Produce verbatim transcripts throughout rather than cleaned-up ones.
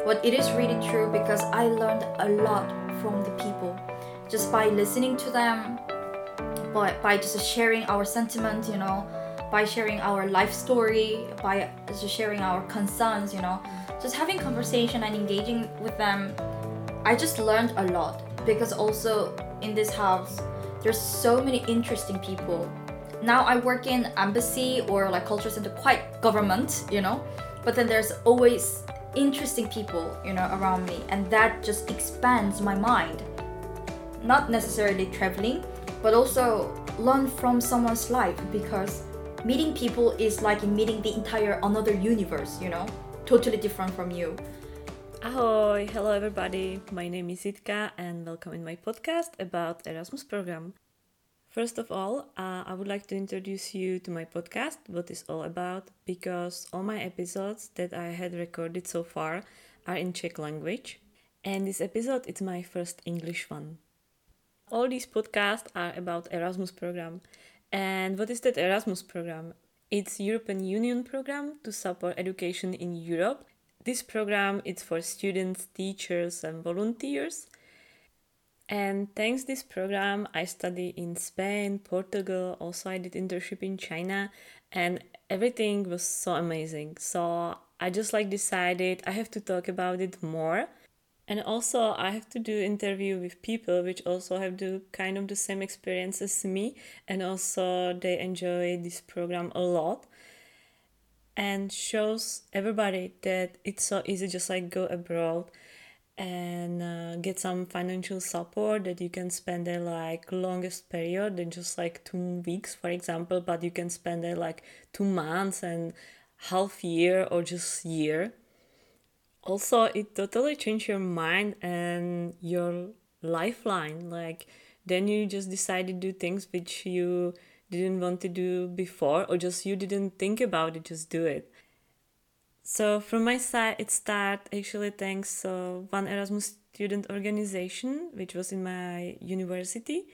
But it is really true because I learned a lot from the people just by listening to them, by, by just sharing our sentiment, you know, by sharing our life story, by just sharing our concerns, you know, just having conversation and engaging with them. I just learned a lot because also in this house, there's so many interesting people. Now I work in embassy or like culture center, quite government, you know, but then there's always interesting people, you know, around me, and that just expands my mind. Not necessarily traveling, but also learn from someone's life, because meeting people is like meeting the entire another universe, you know, totally different from you. Ahoy! Hello everybody, my name is Jitka and welcome in my podcast about Erasmus program. First of all, uh, I would like to introduce you to my podcast, what it's all about, because all my episodes that I had recorded so far are in Czech language, and this episode is my first English one. All these podcasts are about Erasmus program. And what is that Erasmus program? It's European Union program to support education in Europe. This program is for students, teachers and volunteers. And thanks this program, I study in Spain, Portugal, also I did internship in China, and everything was so amazing. So I just like decided I have to talk about it more. And also I have to do interview with people which also have the kind of the same experience as me, and also they enjoy this program a lot. And shows everybody that it's so easy just like go abroad and uh, get some financial support, that you can spend there like longest period than just like two weeks for example, but you can spend there like two months and half year or just year. Also it totally changed your mind and your lifeline, like then you just decide to do things which you didn't want to do before, or just you didn't think about it, just do it. So from my side, it started actually thanks uh, one Erasmus student organization which was in my university.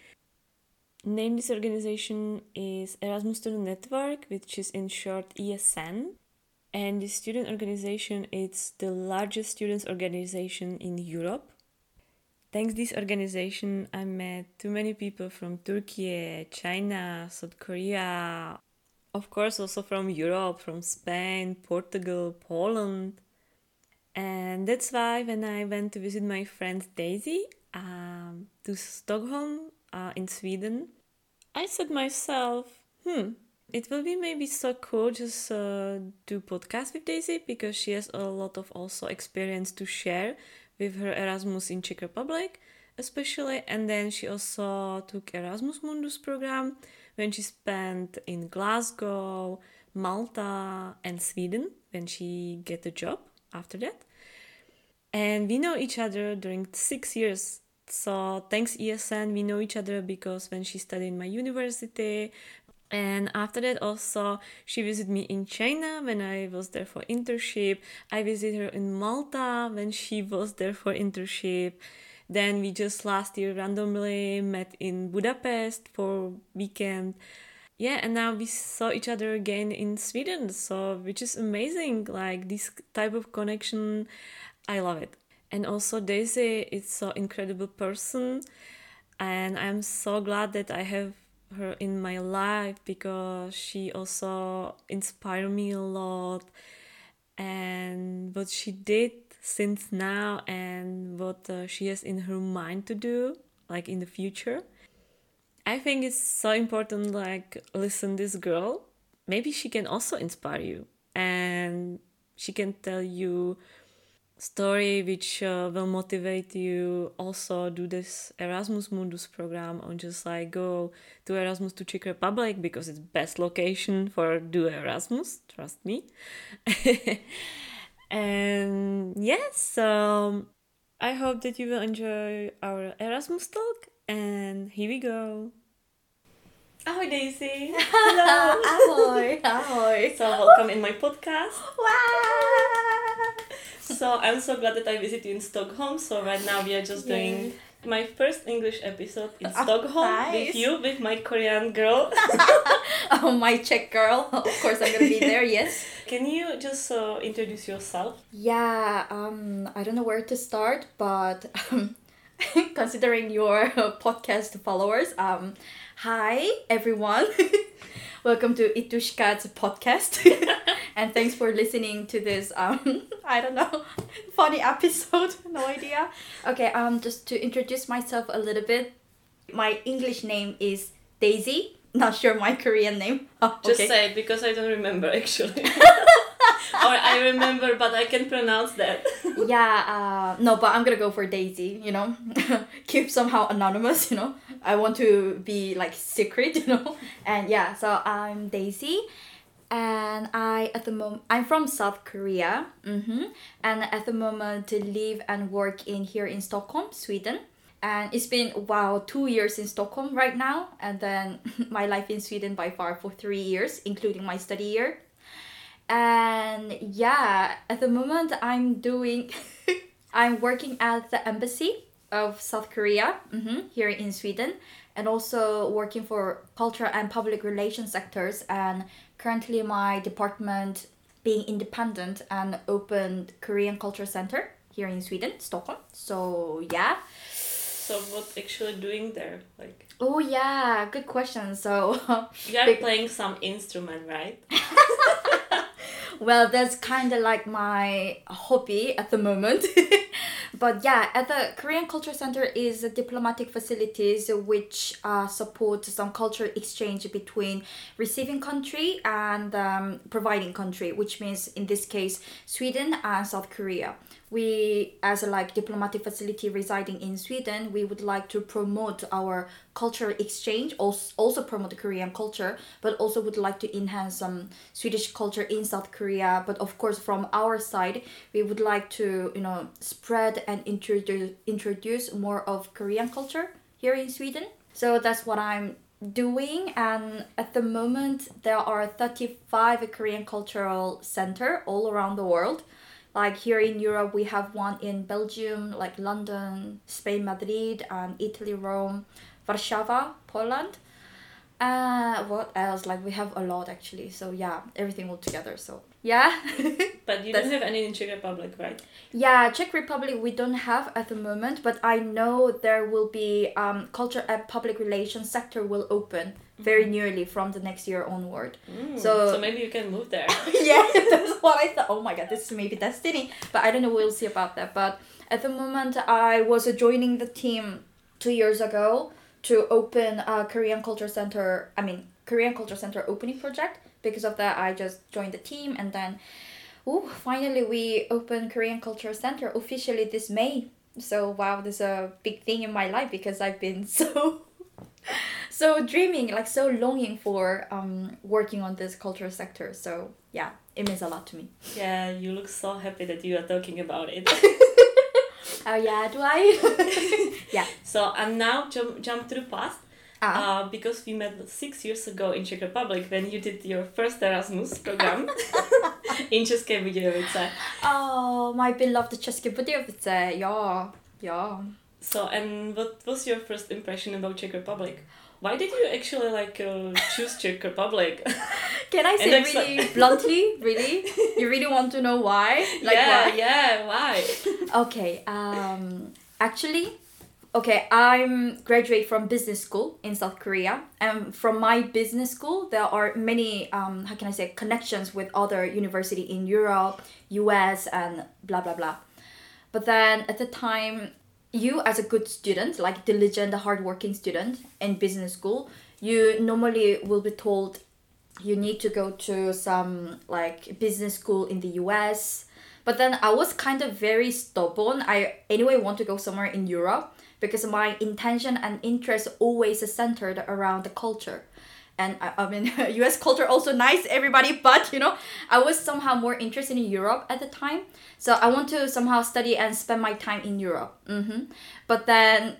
Name this organization is Erasmus Student Network, which is in short E S N. And this student organization is the largest students organization in Europe. Thanks this organization, I met too many people from Turkey, China, South Korea, of course also from Europe, from Spain, Portugal, Poland. And that's why when I went to visit my friend Daisy um, to Stockholm uh, in Sweden, I said myself, hmm, it will be maybe so cool just uh, do podcast with Daisy, because she has a lot of also experience to share with her Erasmus in Czech Republic especially. And then she also took Erasmus Mundus program when she spent in Glasgow, Malta and Sweden when she get a job after that. And we know each other during six years. So thanks E S N, we know each other because when she studied in my university. And after that also she visited me in China when I was there for internship. I visited her in Malta when she was there for internship. Then we just last year randomly met in Budapest for weekend. Yeah, and now we saw each other again in Sweden, so which is amazing. Like this type of connection, I love it. And also Daisy is so incredible person, and I'm so glad that I have her in my life, because she also inspired me a lot, and what she did since now and what uh, she has in her mind to do like in the future. I think it's so important, like listen this girl, maybe she can also inspire you, and she can tell you story which uh, will motivate you also do this Erasmus Mundus program, or just like go to Erasmus to Czech Republic, because it's best location for do Erasmus, trust me. And yes, so I hope that you will enjoy our Erasmus talk, and here we go. Ahoy Daisy! Hello! Ahoy! Ahoy! So welcome in my podcast. Wow! So I'm so glad that I visited you in Stockholm. So right now we are just doing My first English episode in Oh, Stockholm nice. with you, with my Korean girl. Oh, my Czech girl. Of course, I'm gonna be there. Yes. Can you just uh, introduce yourself? Yeah. Um. I don't know where to start, but um, considering your uh, podcast followers, um, hi everyone. Welcome to Itushka's podcast, and thanks for listening to this. Um, I don't know, funny episode. No idea. Okay. Um, just to introduce myself a little bit, my English name is Daisy. Not sure my Korean name. Oh, Just okay. say it because I don't remember actually. Or I remember, but I can pronounce that. Yeah, uh, no, but I'm gonna go for Daisy, you know. Keep somehow anonymous, you know. I want to be like secret, you know. And yeah, so I'm Daisy, and I at the moment I'm from South Korea. Mm-hmm. And at the moment live and work in here in Stockholm, Sweden. And it's been wow two years in Stockholm right now, and then my life in Sweden by far for three years, including my study year. And yeah, at the moment I'm doing, I'm working at the embassy of South Korea, mm-hmm, here in Sweden, and also working for culture and public relations sectors. And currently my department being independent and opened Korean Culture Center here in Sweden, Stockholm. So yeah. So what actually doing there? Like Oh yeah, good question. So you are big- playing some instrument, right? well, that's kind of like my hobby at the moment. But yeah, at the Korean Culture Center is a diplomatic facilities which uh, support some cultural exchange between receiving country and um, providing country, which means in this case Sweden and South Korea. We, as a like diplomatic facility residing in Sweden, we would like to promote our cultural exchange, also, also promote the Korean culture, but also would like to enhance some Swedish culture in South Korea. But of course, from our side, we would like to, you know, spread and introduce introduce more of Korean culture here in Sweden. So that's what I'm doing. And at the moment, there are thirty-five Korean cultural center all around the world. Like here in Europe, we have one in Belgium, like London, Spain, Madrid, and Italy, Rome, Warsaw, Poland. Uh, what else? Like we have a lot actually. So yeah, everything all together. So yeah. But you That's- don't have any in Czech Republic, right? Yeah, Czech Republic we don't have at the moment, but I know there will be um, culture and public relations sector will open very nearly from the next year onward. Mm, So- so maybe you can move there. Yeah, that's what I thought. Oh my god, this is maybe destiny. But I don't know, we'll see about that. But at the moment, I was uh, joining the team two years ago to open a Korean Culture Center, I mean, Korean Culture Center opening project. Because of that, I just joined the team, and then, ooh, finally we opened Korean Culture Center officially this May. So wow, this is a big thing in my life because I've been so so dreaming, like so longing for um working on this cultural sector. So yeah, it means a lot to me. Yeah, you look so happy that you are talking about it. Oh yeah, do I? Yeah. So and now jump jump to the past. Ah. Uh, because we met six years ago in Czech Republic when you did your first Erasmus program in České Budějovice. Oh, my beloved České Budějovice. Yeah, yeah. So and what was your first impression about Czech Republic? Why did you actually like uh, choose Czech Republic? Can I say And that's really bluntly? Really? You really want to know why? Like yeah, why? yeah, why? Okay. Um. Actually, okay. I'm graduate from business school in South Korea, and from my business school, there are many um. How can I say connections with other university in Europe, U S, and blah blah blah. But then at the time, you as a good student, like diligent, hardworking student in business school, you normally will be told you need to go to some like business school in the U S. But then I was kind of very stubborn. I anyway want to go somewhere in Europe because my intention and interest always is centered around the culture. And I, I mean, U S culture also nice, everybody, but you know, I was somehow more interested in Europe at the time. So I want to somehow study and spend my time in Europe. Mm-hmm. But then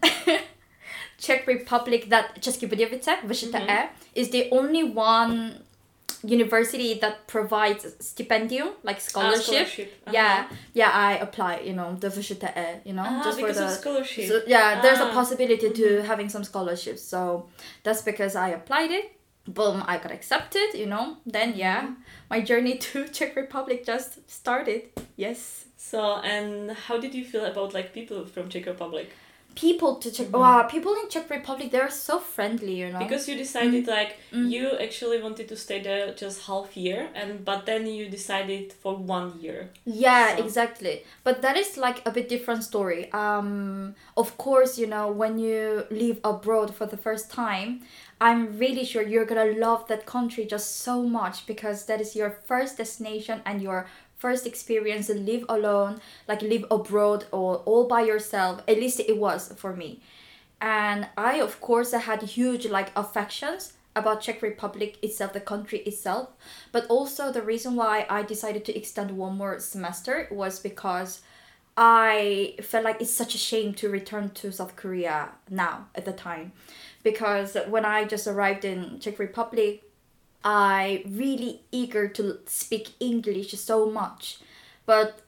Czech Republic, that České Budějovice, V Š T E, is the only one university that provides stipendium, like scholarship. Ah, scholarship. Uh-huh. Yeah, yeah, I apply, you know, the V S H T E, you know, Ah, just for because the of scholarship. So, yeah, there's a Ah. possibility to Mhm. having some scholarships. So that's because I applied it. Boom, I got accepted, you know. Then yeah, Mhm. my journey to Czech Republic just started. Yes. So, and how did you feel about like people from Czech Republic? People to Czech, Mhm. wow, people in Czech Republic, they're so friendly, you know. Because you decided like Mm. you actually wanted to stay there just half year, and but then you decided for one year. Yeah, So- exactly. But that is like a bit different story. Um, of course, you know, when you live abroad for the first time, I'm really sure you're gonna love that country just so much because that is your first destination and your first experience to live alone, like live abroad or all by yourself. At least it was for me. And I, of course, I had huge like affections about Czech Republic itself, the country itself. But also the reason why I decided to extend one more semester was because I felt like it's such a shame to return to South Korea now at the time. Because when I just arrived in Czech Republic, I really eager to speak English so much. But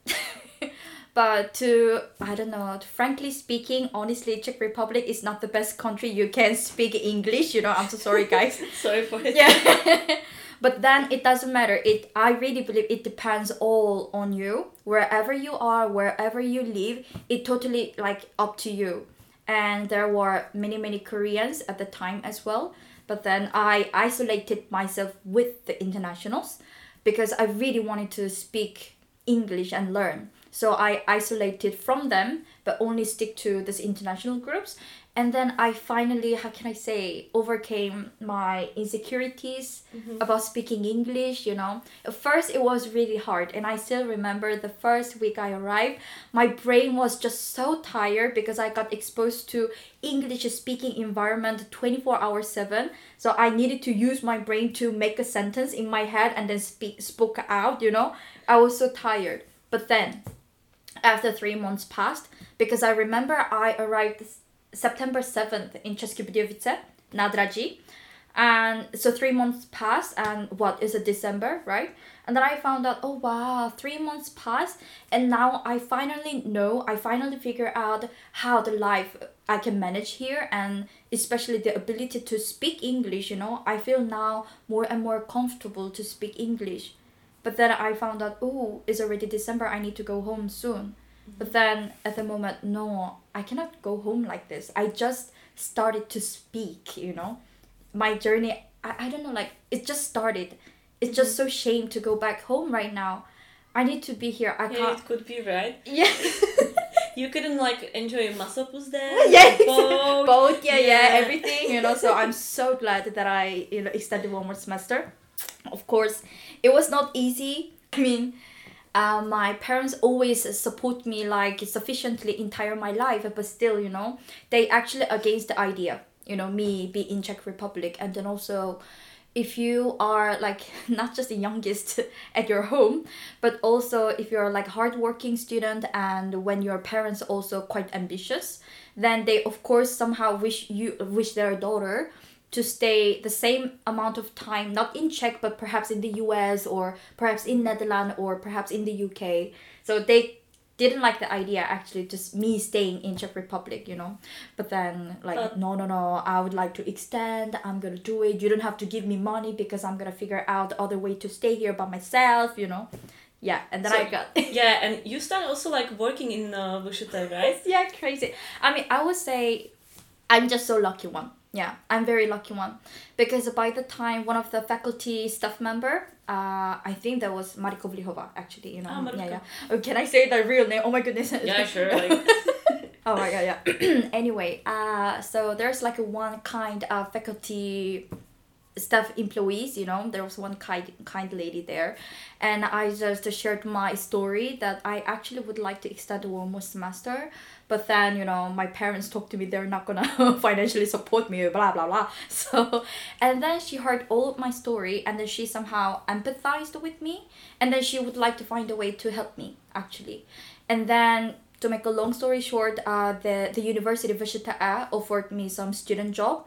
but to I don't know, frankly speaking, honestly, Czech Republic is not the best country you can speak English, you know. I'm so sorry guys. Sorry for it. Yeah. But then it doesn't matter. It I really believe it depends all on you. Wherever you are, wherever you live, it totally like up to you. And there were many many Koreans at the time as well. But then I isolated myself with the internationals because I really wanted to speak English and learn. So I isolated from them, but only stick to these international groups. And then I finally, how can I say, overcame my insecurities about speaking English, you know. At first, it was really hard. And I still remember the first week I arrived, my brain was just so tired because I got exposed to English speaking environment twenty-four hours seven. So I needed to use my brain to make a sentence in my head and then speak, spoke out, you know. I was so tired. But then, after three months passed, because I remember I arrived September seventh in České Budějovice, nádraží. And so three months passed and what is it, December, right? And then I found out, oh wow, three months passed and now I finally know, I finally figure out how the life I can manage here and especially the ability to speak English, you know. I feel now more and more comfortable to speak English. But then I found out, oh, it's already December, I need to go home soon. But then at the moment, no, I cannot go home like this. I just started to speak, you know. My journey, I, I don't know, like, it just started. It's just so shame to go back home right now. I need to be here. I Yeah, can't. it could be right. Yeah. You couldn't like enjoy Masopus there. Yeah, the boat. Both, yeah, yeah, Yeah. everything, you know. So I'm so glad that I, you know, extended one more semester. Of course, it was not easy. I mean, uh, my parents always support me like sufficiently entire my life, but still, you know, they actually against the idea, you know, me be in Czech Republic. And then also, if you are like not just the youngest at your home, but also if you're like hardworking student and when your parents also quite ambitious, then they of course somehow wish you wish their daughter to stay the same amount of time, not in Czech, but perhaps in the U S or perhaps in Netherlands or perhaps in the U K. So they didn't like the idea actually, just me staying in Czech Republic, you know. But then like, But- no, no, no, I would like to extend, I'm gonna do it. You don't have to give me money because I'm gonna figure out the other way to stay here by myself, you know. Yeah, and then So- I got... Yeah, and you started also like working in uh, V S H T, right? Yeah, crazy. I mean, I would say I'm just so lucky one. Yeah, I'm very lucky one. Because by the time one of the faculty staff member, uh, I think that was Mariko Vlihova, actually, you know. Ah, Mariko. Yeah, yeah. Oh, can I say the real name? Oh my goodness. Yeah, sure. Like, Oh my god, yeah. Anyway, uh, so there's like a one kind of faculty staff employees, you know, there was one kind kind lady there, and I just shared my story that I actually would like to extend one more semester, but then, you know, my parents talked to me, they're not gonna financially support me, blah blah blah. So, and then she heard all of my story, and then she somehow empathized with me, and then she would like to find a way to help me actually, and then. To make a long story short, uh, the, the University of V S H T offered me some student job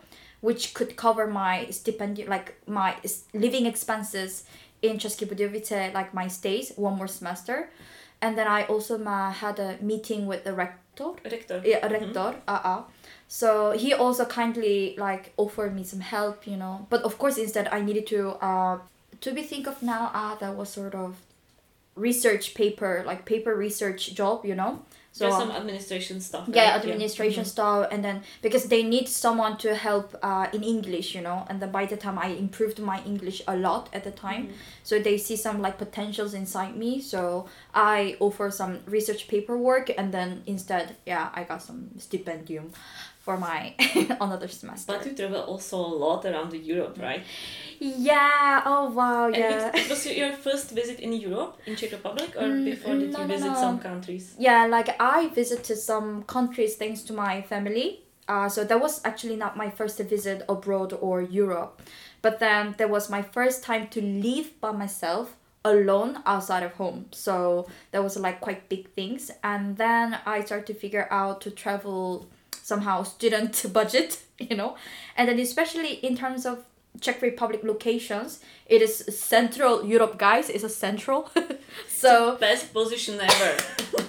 which could cover my stipendium, like my s- living expenses in České Budějovice, like my stays, one more semester. And then I also ma- had a meeting with the rector. Rector. Yeah, rector. Mm-hmm. Uh-uh. So he also kindly like offered me some help, you know. But of course, instead I needed to, uh, to be think of now, ah, that was sort of research paper, like paper research job, you know. So yeah, some administration stuff. Yeah, right? administration yeah. stuff, and then because they need someone to help uh, in English, you know, and then by the time I improved my English a lot at the time, mm-hmm. so they see some like potentials inside me. So I offer some research paperwork, and then instead, yeah, I got some stipendium for my another semester. But you travel also a lot around Europe, right? Yeah. Oh wow. Yeah. And it, it was your first visit in Europe, in Czech Republic, or Mm, before did no, you no, visit no. some countries? Yeah, like I visited some countries thanks to my family. Uh, so that was actually not my first visit abroad or Europe. But then that was my first time to live by myself alone outside of home. So that was like quite big things. And then I started to figure out to travel somehow student budget, you know. And then especially in terms of Czech Republic locations, it is Central Europe, guys. It's a central. So it's the best position ever.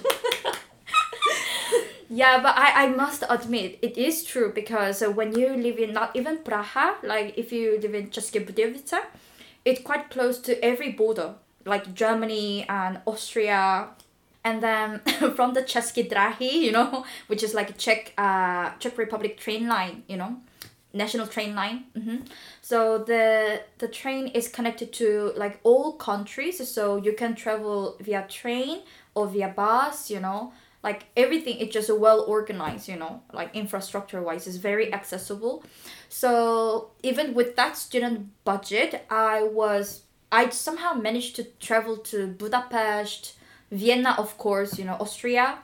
Yeah, but I, I must admit, it is true because uh, when you live in not even Praha, like if you live in České Budějovice, it's quite close to every border, like Germany and Austria. And then from the České dráhy, you know, which is like a Czech, uh, Czech Republic train line, you know, national train line. Mm-hmm. So the the train is connected to like all countries, so you can travel via train or via bus, you know. Like everything is just well organized, you know, like infrastructure wise is very accessible. So even with that student budget, I was I somehow managed to travel to Budapest, Vienna, of course, you know, Austria,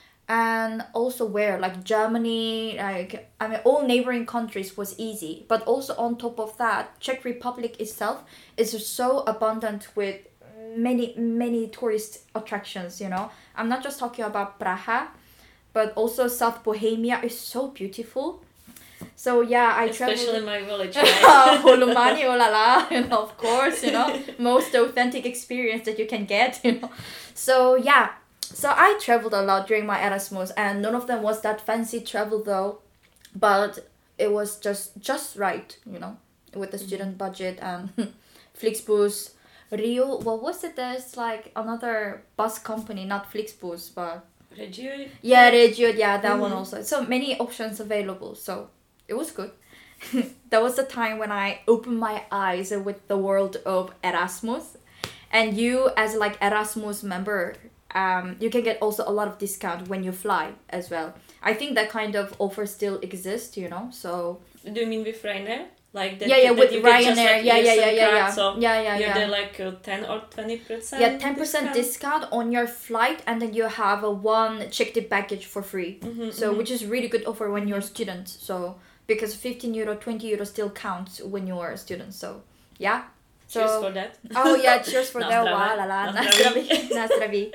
and also where like Germany, like I mean all neighboring countries was easy. But also on top of that, Czech Republic itself is so abundant with many many tourist attractions, you know. I'm not just talking about Praha, but also South Bohemia is so beautiful. So yeah, I especially traveled. my village, right? Holumani, oh la la, and of course, you know, most authentic experience that you can get, you know. So yeah, so I traveled a lot during my Erasmus, and none of them was that fancy travel though, but it was just just right, you know, with the mm-hmm. student budget and Flixbus. Rio, what was it? There's like another bus company, not Flixbus, but Regio. Yeah, Regio, yeah, that mm-hmm. one also. So many options available. So it was good. That was the time when I opened my eyes with the world of Erasmus. And you, as like Erasmus member, um, you can get also a lot of discount when you fly as well. I think that kind of offer still exists, you know. So. Do you mean with Ryanair? Like that, yeah, yeah, that with you Ryanair, just, like, yeah, yeah, yeah, yeah, card, yeah, so yeah, yeah, you're yeah. there like uh, ten or twenty percent. Yeah, ten percent discount. discount on your flight, and then you have a one checked baggage for free. Mm-hmm, so mm-hmm. which is really good offer when you're a student. So because fifteen euro, twenty euro still counts when you are a student. So yeah. So, cheers for that. Oh yeah, cheers for Na that. zdraví. Wow, la la, Na na zdraví. zdraví, na zdraví.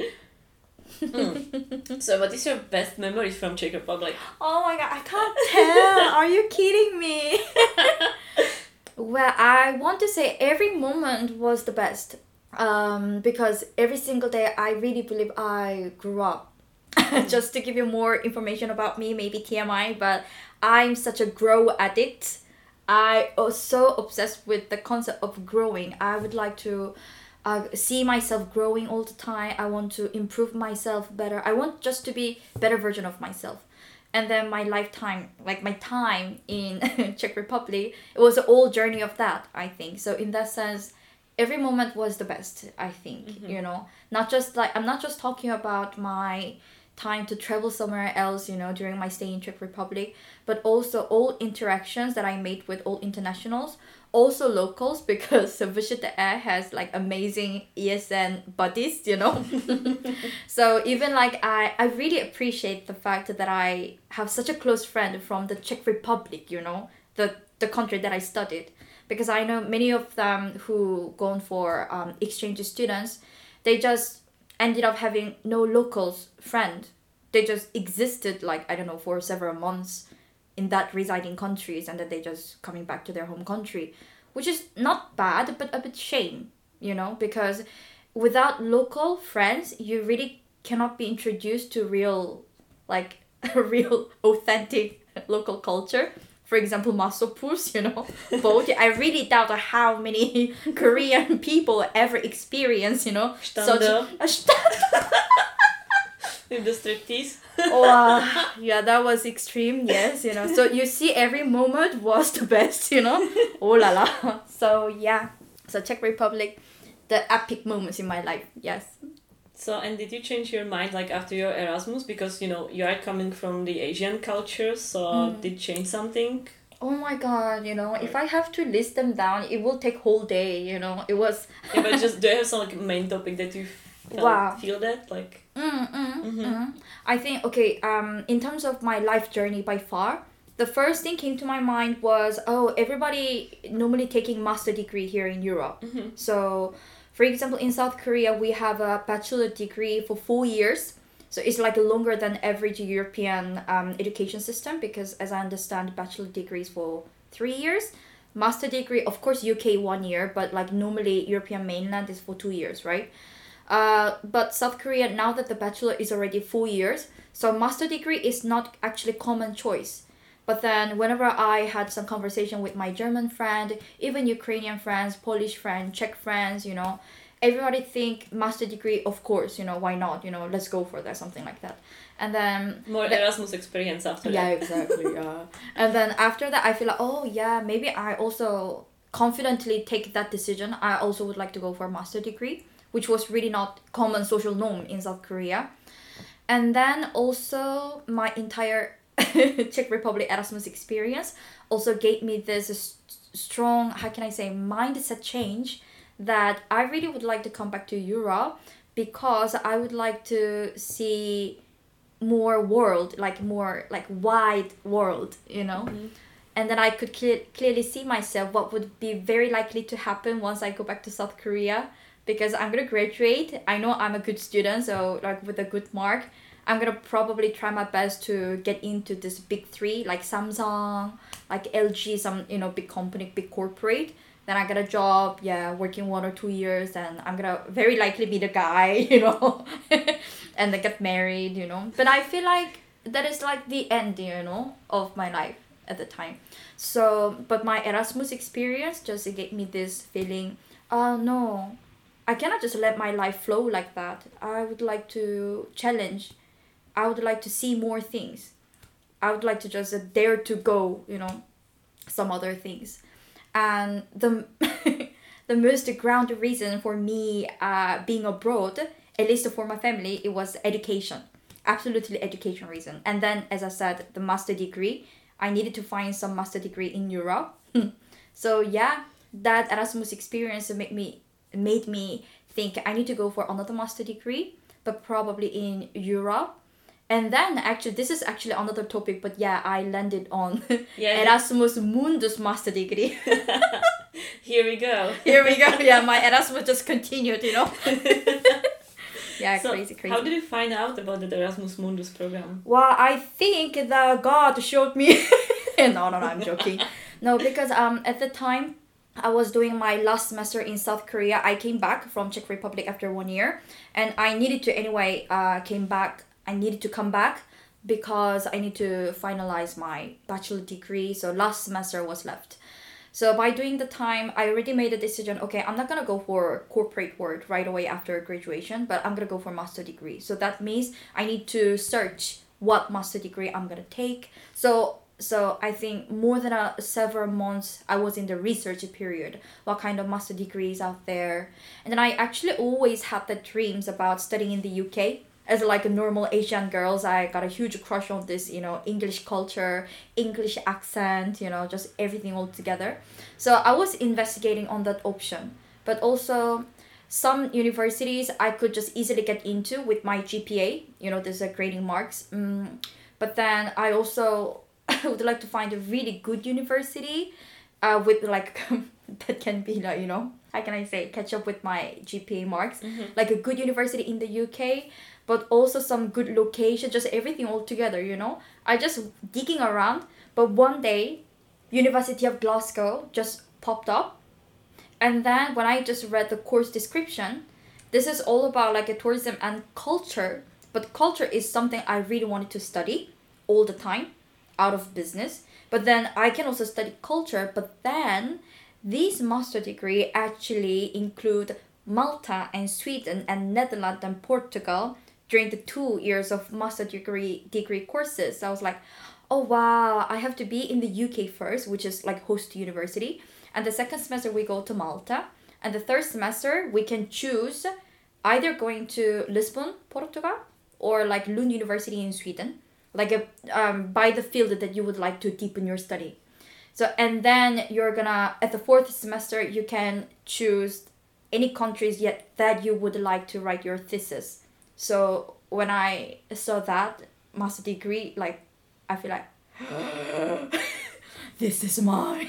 Mm. So what is your best memory from Czech Republic? Oh my god, I can't tell. Are you kidding me? Well, I want to say every moment was the best. Um, because every single day I really believe I grew up. Just to give you more information about me, maybe T M I, but I'm such a grow addict. I was so obsessed with the concept of growing. I would like to uh, see myself growing all the time. I want to improve myself better. I want just to be better version of myself. And then my lifetime, like my time in Czech Republic, it was an whole journey of that, I think. So in that sense, every moment was the best, I think, mm-hmm. you know. Not just like, I'm not just talking about my time to travel somewhere else, you know, during my stay in Czech Republic, but also all interactions that I made with all internationals, also locals, because Vyšší té é has like amazing E S N buddies, you know. So even like I, I really appreciate the fact that I have such a close friend from the Czech Republic, you know, the the country that I studied, because I know many of them who gone for um, exchange students, they just ended up having no locals friend. They just existed like, I don't know, for several months in that residing countries, and that they just coming back to their home country, which is not bad, but a bit shame, you know, because without local friends, you really cannot be introduced to real, like, real authentic local culture. For example, Masopus, you know, boat. I really doubt how many Korean people ever experience, you know, such a with the striptease. Oh, uh, yeah, that was extreme. Yes, you know. So you see, every moment was the best, you know. Oh la la. So yeah. So Czech Republic, the epic moments in my life. Yes. So, and did you change your mind like after your Erasmus? Because, you know, you are coming from the Asian culture, so mm. did it change something? Oh my god, you know, if I have to list them down, it will take whole day, you know. It was... yeah, but just, do you have some like main topic that you felt, wow. feel that? Like... Mm, mm, mm-hmm. Mm. I think, okay, um, in terms of my life journey by far, the first thing came to my mind was, oh, everybody normally taking master degree here in Europe. Mm-hmm. So... for example, in South Korea, we have a bachelor degree for four years. So it's like longer than average European um, education system, because as I understand, bachelor degree is for three years. Master degree, of course, U K one year, but like normally European mainland is for two years, right? Uh, but South Korea, now that the bachelor is already four years, so master degree is not actually common choice. But then whenever I had some conversation with my German friend, even Ukrainian friends, Polish friends, Czech friends, you know, everybody think master degree, of course, you know, why not? You know, let's go for that, something like that. And then... more the, Erasmus experience after yeah, that. Yeah, exactly, yeah. And then after that, I feel like, oh, yeah, maybe I also confidently take that decision. I also would like to go for a master degree, which was really not common social norm in South Korea. And then also my entire... Czech Republic Erasmus experience also gave me this st- strong, how can I say, mindset change that I really would like to come back to Europe, because I would like to see more world, like more like wide world, you know. Mm-hmm. And then I could clear- clearly see myself what would be very likely to happen once I go back to South Korea, because I'm gonna graduate. I know I'm a good student, so like with a good mark, I'm gonna probably try my best to get into this big three, like Samsung, like L G, some, you know, big company, big corporate. Then I get a job, yeah, working one or two years, and I'm gonna very likely be the guy, you know, and then get married, you know. But I feel like that is like the end, you know, of my life at the time. So, but my Erasmus experience just gave me this feeling, oh no, I cannot just let my life flow like that. I would like to challenge. I would like to see more things. I would like to just uh, dare to go, you know, some other things. And the the most ground reason for me uh, being abroad, at least for my family, it was education. Absolutely education reason. And then, as I said, the master degree. I needed to find some master degree in Europe. So yeah, that Erasmus experience made me made me think I need to go for another master degree, but probably in Europe. And then actually, this is actually another topic, but yeah, I landed on yeah, Erasmus Mundus master degree. Here we go. Here we go. Yeah, my Erasmus just continued, you know. Yeah, so crazy, crazy. How did you find out about the Erasmus Mundus program? Well, I think the God showed me. no, no, no, I'm joking. No, because um at the time, I was doing my last semester in South Korea. I came back from Czech Republic after one year, and I needed to anyway. Uh, came back. I needed to come back because I need to finalize my bachelor degree. So last semester was left. So by doing the time, I already made a decision. Okay, I'm not gonna go for corporate work right away after graduation, but I'm gonna go for master degree. So that means I need to search what master degree I'm gonna take. So so I think more than a, several months I was in the research period. What kind of master degrees out there? And then I actually always had the dreams about studying in the U K. As like a normal Asian girls, I got a huge crush on this, you know, English culture, English accent, you know, just everything all together. So I was investigating on that option. But also some universities I could just easily get into with my G P A, you know, there's a grading marks. Mm. But then I also would like to find a really good university uh, with like, that can be like, you know, how can I say, catch up with my G P A marks. Mm-hmm. Like a good university in the U K. but also some good location, just everything all together, you know. I just digging around, but one day, University of Glasgow just popped up. And then when I just read the course description, this is all about like a tourism and culture. But culture is something I really wanted to study all the time, out of business. But then I can also study culture. But then these master degree actually include Malta and Sweden and Netherlands and Portugal during the two years of master degree degree courses. So I was like, oh wow, I have to be in the U K first, which is like host university. And the second semester we go to Malta. And the third semester we can choose either going to Lisbon, Portugal, or like Lund University in Sweden, like a um, by the field that you would like to deepen your study. So, and then you're gonna, at the fourth semester, you can choose any countries yet that you would like to write your thesis. So when I saw that master degree, like, I feel like, this is mine.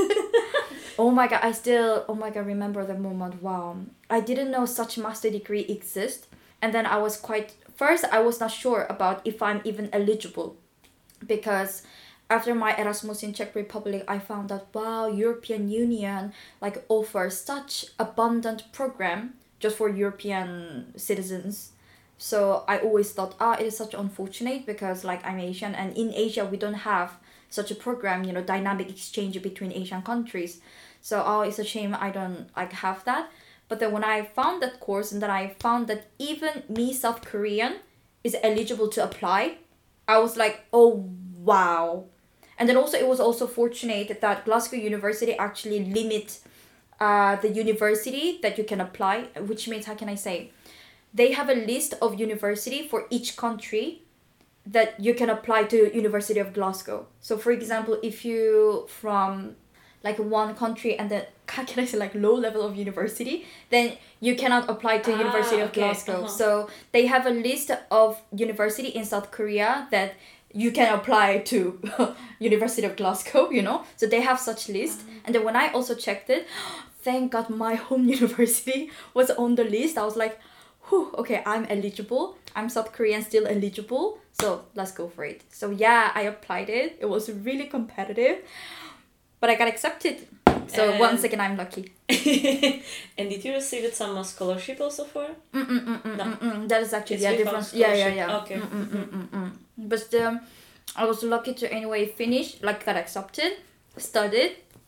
Oh my god, I still, oh my god, remember the moment. Wow. I didn't know such master degree exist. And then I was quite, first I was not sure about if I'm even eligible. Because after my Erasmus in Czech Republic, I found that, wow, European Union like offers such abundant program just for European citizens. So I always thought, ah, it is such unfortunate because like I'm Asian and in Asia we don't have such a program, you know, dynamic exchange between Asian countries. So, oh, it's a shame I don't like have that. But then when I found that course and then I found that even me, South Korean, is eligible to apply, I was like, oh, wow. And then also it was also fortunate that Glasgow University actually limit uh, the university that you can apply, which means, how can I say? They have a list of university for each country that you can apply to University of Glasgow. So for example, if you from like one country and then, how can I say, like low level of university, then you cannot apply to ah, University of okay. Glasgow. Uh-huh. So they have a list of university in South Korea that you can apply to University of Glasgow, you know. So they have such list. Uh-huh. And then when I also checked it, thank God my home university was on the list. I was like, whew, okay, I'm eligible. I'm South Korean, still eligible. So let's go for it. So yeah, I applied it. It was really competitive. But I got accepted. So and once again, I'm lucky. And did you receive some scholarship also for? Mm mm mm mm no. mm, mm. That is actually yeah different. Yeah yeah yeah. Okay. Mm, mm, mm, mm, mm. But um, I was lucky to anyway finish, like got accepted, studied,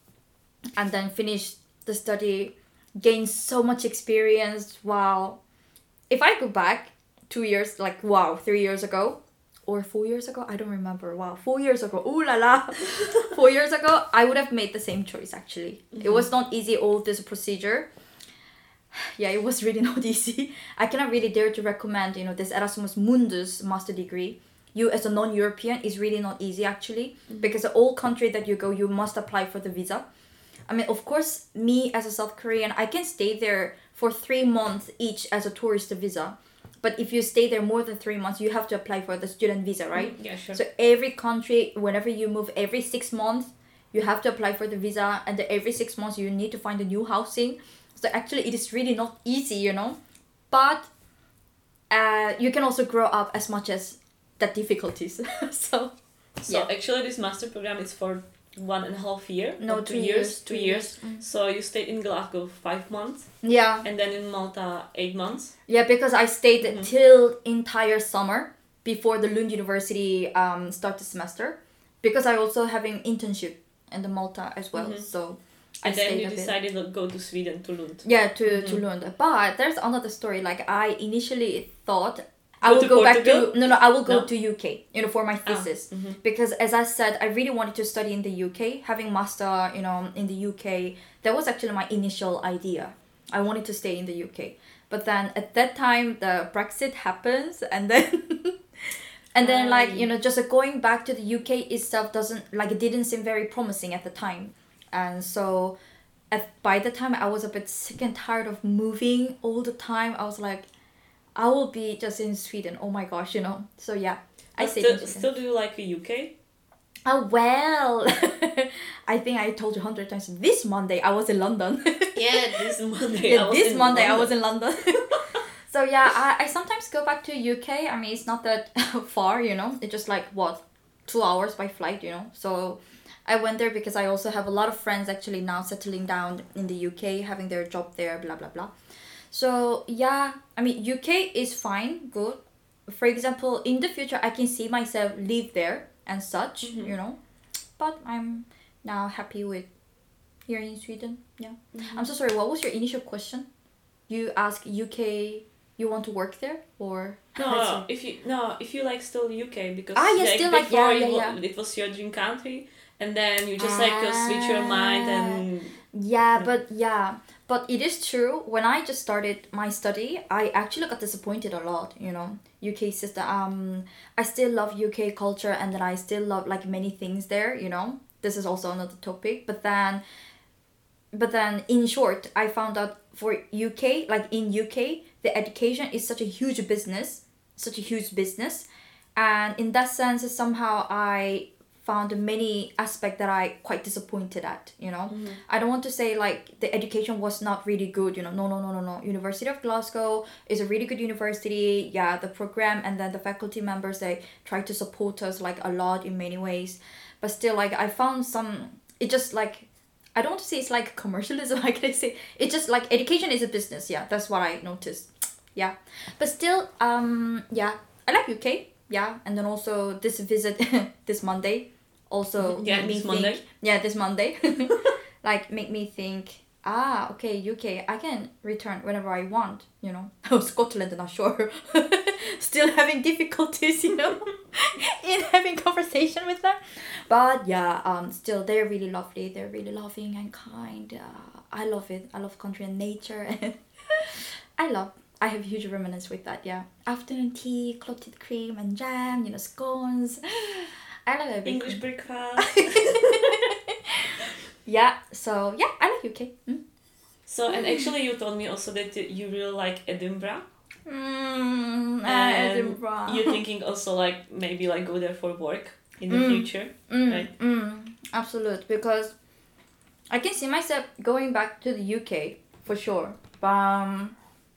and then finished the study, gained so much experience. Wow. If I go back two years, like wow, three years ago. Or four years ago, I don't remember. Wow, four years ago. Ooh la la. Four years ago, I would have made the same choice actually. Mm-hmm. It was not easy, all this procedure. Yeah, it was really not easy. I cannot really dare to recommend, you know, this Erasmus Mundus master degree. You as a non-European is really not easy actually. Mm-hmm. Because all country that you go, you must apply for the visa. I mean, of course, me as a South Korean, I can stay there for three months each as a tourist visa. But if you stay there more than three months, you have to apply for the student visa, right? Yeah, sure. So every country, whenever you move, every six months, you have to apply for the visa. And every six months, you need to find a new housing. So actually, it is really not easy, you know. But uh, you can also grow up as much as the difficulties. so, So yeah. actually, this master program is for one and a half year. No, two, two years. years. Two two years. years. Mm. So you stayed in Glasgow five months. Yeah. And then in Malta eight months. Yeah, because I stayed mm-hmm. till entire summer before the Lund University um start the semester. Because I also having internship in the Malta as well. Mm-hmm. So. And I then you decided to go to Sweden, to Lund. Yeah, to mm-hmm. to Lund. But there's another story. Like I initially thought. I will go back to no no I will go no. to U K, you know, for my thesis. Ah, mm-hmm. Because as I said, I really wanted to study in the U K, having master, you know, in the U K. That was actually my initial idea. I wanted to stay in the U K. But then at that time the Brexit happens and then and then um. like, you know, just going back to the U K itself doesn't like it didn't seem very promising at the time. And so at by the time I was a bit sick and tired of moving all the time, I was like I will be just in Sweden. Oh my gosh, you know. So yeah, I stayed still, in Sweden. Still do you like the U K? Oh well, I think I told you a hundred times. This Monday I was in London. Yeah, this Monday. yeah, I was this in Monday London. I was in London. So yeah, I, I sometimes go back to U K. I mean, it's not that far, you know. It's just like what, two hours by flight, you know. So I went there because I also have a lot of friends actually now settling down in the U K, having their job there, blah blah blah. So yeah, I mean U K is fine, good. For example, in the future, I can see myself live there and such, Mhm. you know. But I'm now happy with here in Sweden. Yeah. I'm so sorry. What was your initial question? You ask U K. You want to work there or? No, if you no, if you like still U K because Ah, yeah, like, still like- before yeah, it, yeah, wa- it was your dream country, and then you just like uh, switch your mind and Yeah, but yeah, but it is true. When I just started my study, I actually got disappointed a lot. You know, U K system. Um, I still love U K culture, and then I still love like many things there. You know, this is also another topic. But then, but then in short, I found out for U K, like in U K, the education is such a huge business, such a huge business, and in that sense, somehow I found many aspects that I quite disappointed at, you know. Mhm. I don't want to say like the education was not really good, you know. No, no, no, no, no. University of Glasgow is a really good university. Yeah, the program and then the faculty members, they try to support us like a lot in many ways. But still like I found some, it just like, I don't want to say it's like commercialism, like I say. It's just like education is a business, yeah. That's what I noticed. Yeah. But still, um yeah, I like U K. Yeah, and then also this visit this Monday also Yeah, made me this think, Monday. yeah, this Monday like make me think, ah, okay, U K, I can return whenever I want, you know. Oh, Scotland, not sure. Still having difficulties, you know, in having conversation with them. But yeah, um, still they're really lovely. They're really loving and kind. Uh, I love it. I love country and nature, and I love. I have huge reminiscence with that. Yeah, afternoon tea, clotted cream and jam. You know, scones. I love everything. English breakfast. Yeah. So yeah, I like U K. Mm. So and actually you told me also that you really like Edinburgh. Mm, uh, And Edinburgh. you're thinking also like maybe like go there for work in the Mm. future, Mm, right? mm, absolute, because I can see myself going back to the U K for sure. Um,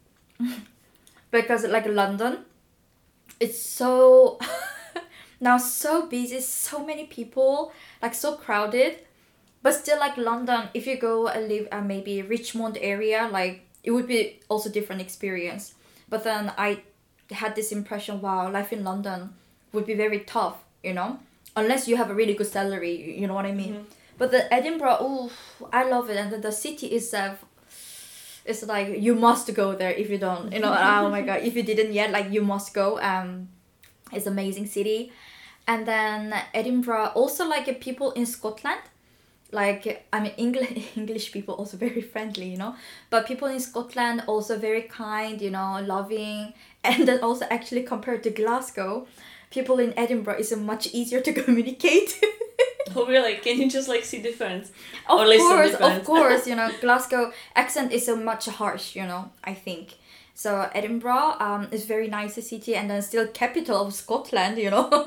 because like London, it's so now so busy, so many people, like so crowded. But still, like London, if you go and live at maybe Richmond area, like it would be also different experience. But then I had this impression, wow, life in London would be very tough, you know, unless you have a really good salary, you know what I mean. Mhm. But the Edinburgh, oh, I love it, and then the city itself, it's like you must go there if you don't, you know. Oh my god, if you didn't yet, like you must go. Um, it's amazing city, and then Edinburgh also like uh, people in Scotland. Like I mean, English English people also very friendly, you know. But people in Scotland also very kind, you know, loving, and then also actually compared to Glasgow, people in Edinburgh is uh, much easier to communicate. Oh really? Can you just like see difference? Of Or listen course, different. of course, you know, Glasgow accent is so much harsh, you know, I think. So Edinburgh um, is very nice city, and then still capital of Scotland, you know.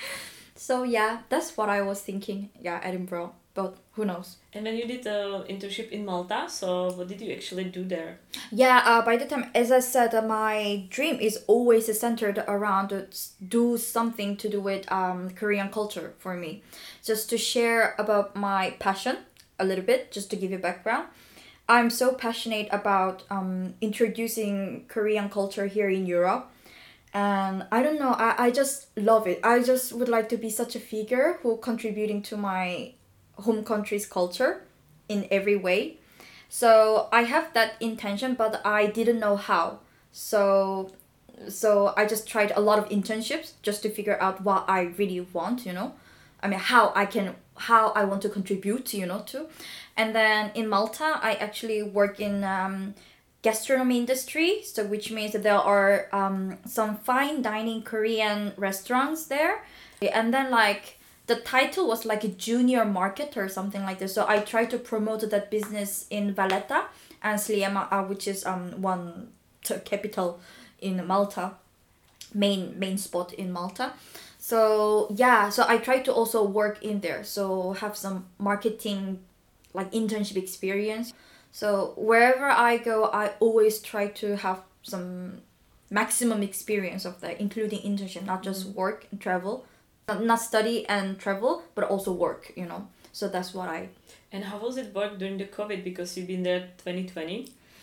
So yeah, that's what I was thinking. Yeah, Edinburgh, but who knows? And then you did the internship in Malta. So what did you actually do there? Yeah, uh, by the time, as I said, uh, my dream is always centered around to s- do something to do with um, Korean culture for me. Just to share about my passion a little bit, just to give you background. I'm so passionate about um, introducing Korean culture here in Europe. And I don't know, I, I just love it. I just would like to be such a figure who contributing to my home country's culture in every way. So I have that intention, but I didn't know how. So so I just tried a lot of internships just to figure out what I really want, you know. I mean how I can how I want to contribute, you know, to. And then in Malta, I actually work in um, gastronomy industry, so which means that there are um, some fine dining Korean restaurants there. And then like the title was like a junior marketer or something like this. So I tried to promote that business in Valletta and Sliema, uh, which is um one t- capital in Malta, main main spot in Malta. So yeah, so I tried to also work in there, so have some marketing like internship experience. So wherever I go, I always try to have some maximum experience of that, including internship, not just work and travel, not, not study and travel, but also work, you know. So that's what I... And how was it work during the COVID? Because you've been there twenty twenty.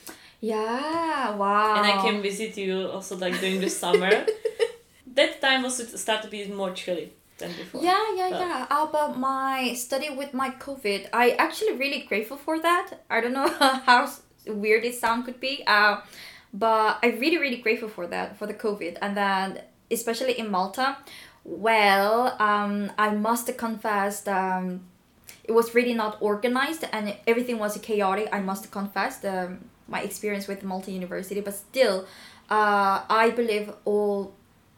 Yeah, wow. And I came visit you also like during the summer. That time also started to be more chilly than before. Yeah, yeah, but... yeah. About my study with my COVID, I actually really grateful for that. I don't know how weird it sound could be. Uh, but I really, really grateful for that, for the COVID. And then, especially in Malta, well, um, I must confess, um, it was really not organized and everything was chaotic. I must confess the, my experience with Malta University, but still, uh, I believe all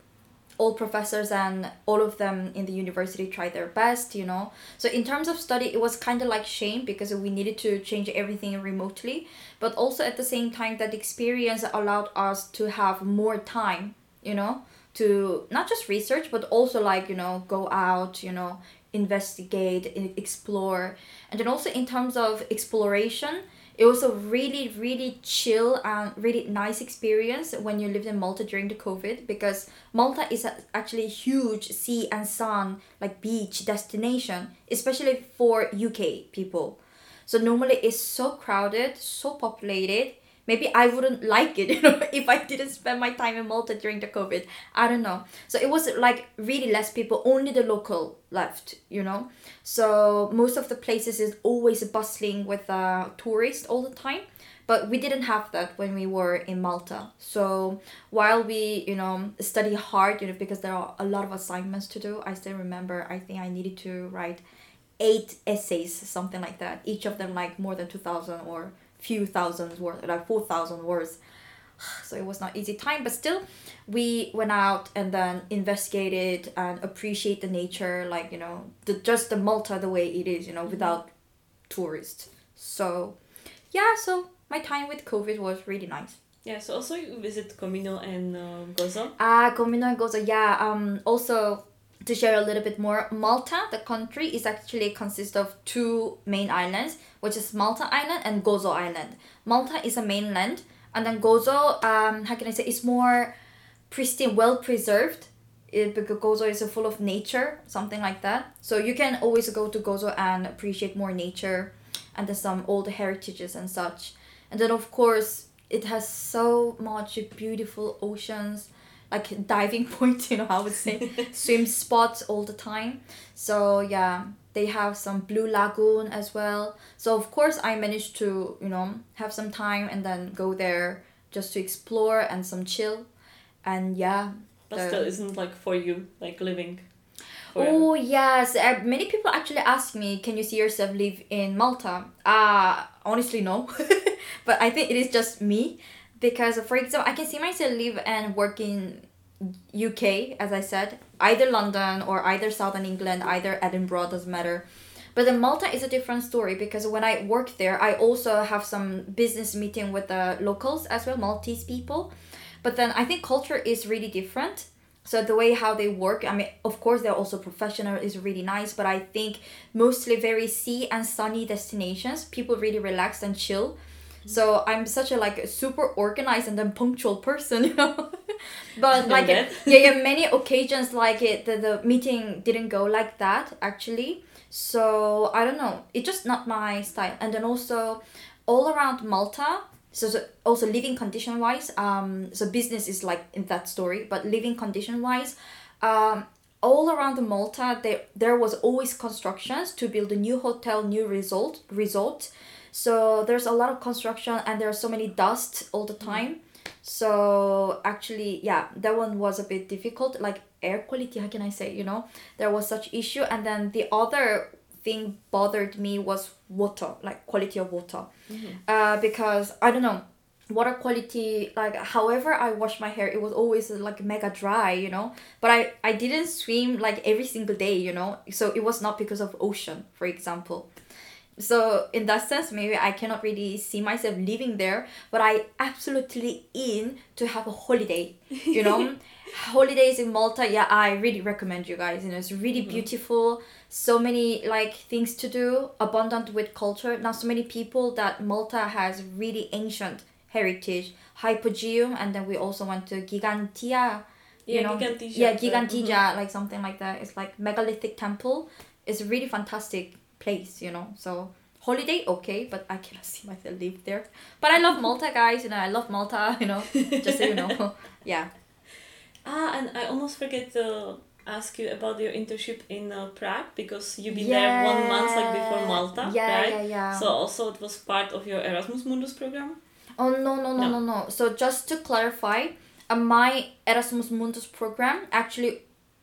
all professors and all of them in the university tried their best, you know. So in terms of study, it was kind of like shame because we needed to change everything remotely. But also at the same time, that experience allowed us to have more time, you know, to not just research, but also like, you know, go out, you know, investigate, explore. And then also in terms of exploration, it was a really, really chill and really nice experience when you lived in Malta during the COVID, because Malta is a, actually a huge sea and sun, like beach destination, especially for U K people. So normally it's so crowded, so populated. Maybe I wouldn't like it, you know, if I didn't spend my time in Malta during the COVID. I don't know. So it was like really less people, only the local left, you know. So most of the places is always bustling with uh, tourists all the time. But we didn't have that when we were in Malta. So while we, you know, study hard, you know, because there are a lot of assignments to do. I still remember, I think I needed to write eight essays, something like that. Each of them like more than two thousand or few thousands words, like four thousand words. So it was not easy time, but still we went out and then investigated and appreciate the nature, like, you know, the just the Malta the way it is, you know, without tourists. So yeah, so my time with COVID was really nice. Yeah, so also you visit Comino and uh, Gozo. Ah, uh, Comino and Gozo, yeah. Um, also to share a little bit more, Malta, the country, is actually consists of two main islands, which is Malta Island and Gozo Island. Malta is a mainland, and then Gozo, um, how can I say, is more pristine, well preserved. It, because Gozo is full of nature, something like that. So you can always go to Gozo and appreciate more nature, and then some old heritages and such. And then of course, it has so much beautiful oceans, like diving points, you know, I would say, swim spots all the time. So yeah, they have some Blue Lagoon as well. So of course I managed to, you know, have some time and then go there just to explore and some chill. And yeah. But the... still isn't like for you, like living forever. Oh yes, uh, many people actually ask me, can you see yourself live in Malta? Uh, honestly no. But I think it is just me. Because, for example, I can see myself live and work in U K, as I said, either London or either Southern England, either Edinburgh, doesn't matter. But then Malta is a different story, because when I work there, I also have some business meeting with the locals as well, Maltese people. But then I think culture is really different. So the way how they work, I mean, of course, they're also professional, is really nice. But I think mostly very sea and sunny destinations, people really relax and chill. So I'm such a like super organized and then punctual person, you know. But like it, yeah, yeah, many occasions like it, the, the meeting didn't go like that actually. So I don't know, it's just not my style. And then also all around Malta, so, so also living condition wise, um, so business is like in that story, but living condition wise, um, all around the Malta there there was always constructions to build a new hotel, new resort resort. So there's a lot of construction and there's so many dust all the time. So actually, yeah, that one was a bit difficult. Like air quality, how can I say, you know, there was such issue. And then the other thing bothered me was water, like quality of water. Mm-hmm. Uh, because I don't know, water quality, like however I wash my hair, it was always like mega dry, you know. But I, I didn't swim like every single day, you know. So it was not because of ocean, for example. So in that sense, maybe I cannot really see myself living there, but I absolutely in to have a holiday, you know. Holidays in Malta, yeah, I really recommend you guys. You know, it's really mm-hmm. beautiful. So many like things to do, abundant with culture. Now, so many people that Malta has really ancient heritage, Hypogeum, and then we also went to Gigantia. You Yeah, know, Gigantia. yeah, uh, Gigantia, mhm. like something like that. It's like megalithic temple. It's a really fantastic place, you know. So holiday, okay, but I cannot see myself live there. But I love Malta, guys. You know, I love Malta. You know, just so you know, yeah. Ah, and I almost forget to ask you about your internship in uh, Prague, because you've been Yeah. there one month like before Malta, Yeah, right? yeah, yeah. So also it was part of your Erasmus Mundus program? Oh no no no No. no no. So just to clarify, uh, my Erasmus Mundus program actually,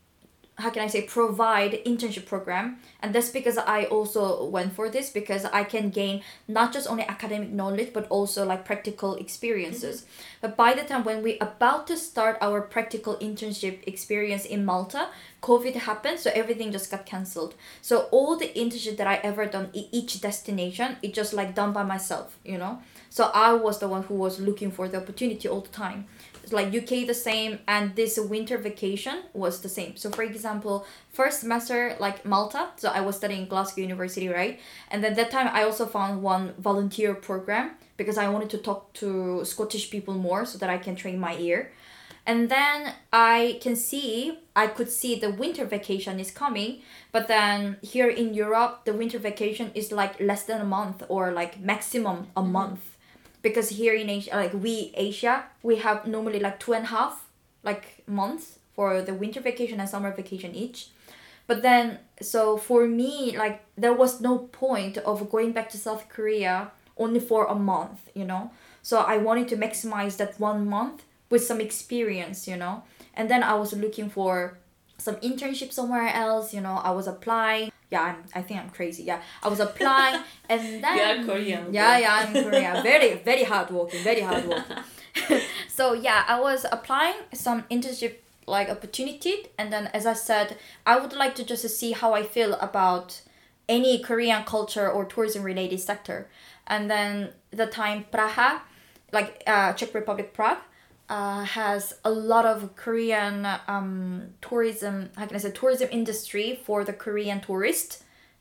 how can I say, provide internship program, and that's because I also went for this, because I can gain not just only academic knowledge but also like practical experiences. But by the time when we about to start our practical internship experience in Malta, COVID happened, so everything just got cancelled. So all the internship that I ever done in each destination, it just like done by myself, you know. So I was the one who was looking for the opportunity all the time. It's like U K the same, and this winter vacation was the same. So for example, first semester like Malta, so I was studying Glasgow University, right? And then that time I also found one volunteer program because I wanted to talk to Scottish people more so that I can train my ear. And then I can see, I could see the winter vacation is coming, but then here in Europe, the winter vacation is like less than a month, or like maximum a month. Because here in Asia, like we Asia, we have normally like two and a half like months for the winter vacation and summer vacation each. But then, so for me, like there was no point of going back to South Korea only for a month, you know. So I wanted to maximize that one month with some experience, you know. And then I was looking for some internship somewhere else, you know. I was applying. Yeah, I'm, I think I'm crazy. Yeah, I was applying, and then You are Korean. Yeah, yeah, I'm Korean. Very, very hardworking. Very hardworking. So yeah, I was applying some internship like opportunity, and then as I said, I would like to just see how I feel about any Korean culture or tourism related sector. And then the time Praha, like uh, Czech Republic Prague, uh, has a lot of Korean um, tourism, how can I say, tourism industry for the Korean tourist.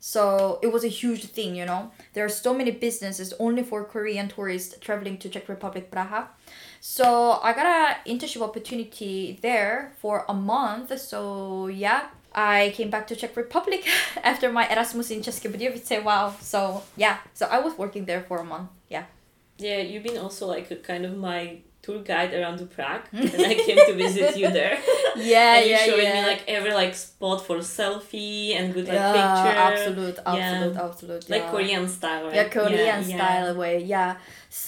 So it was a huge thing, you know. There are so many businesses only for Korean tourists traveling to Czech Republic Praha. So I got an internship opportunity there for a month. So yeah, I came back to Czech Republic after my Erasmus in České Budějovice. Wow. So yeah, so I was working there for a month. Yeah. Yeah, you've been also like a kind of my tour guide around to Prague, and I came to visit you there. Yeah, and you yeah, showed yeah. me like every like spot for selfie and good like Yeah, picture. absolute, absolute, Yeah. absolute. Like yeah. Korean style, right? Yeah, Korean yeah, style yeah. way, yeah.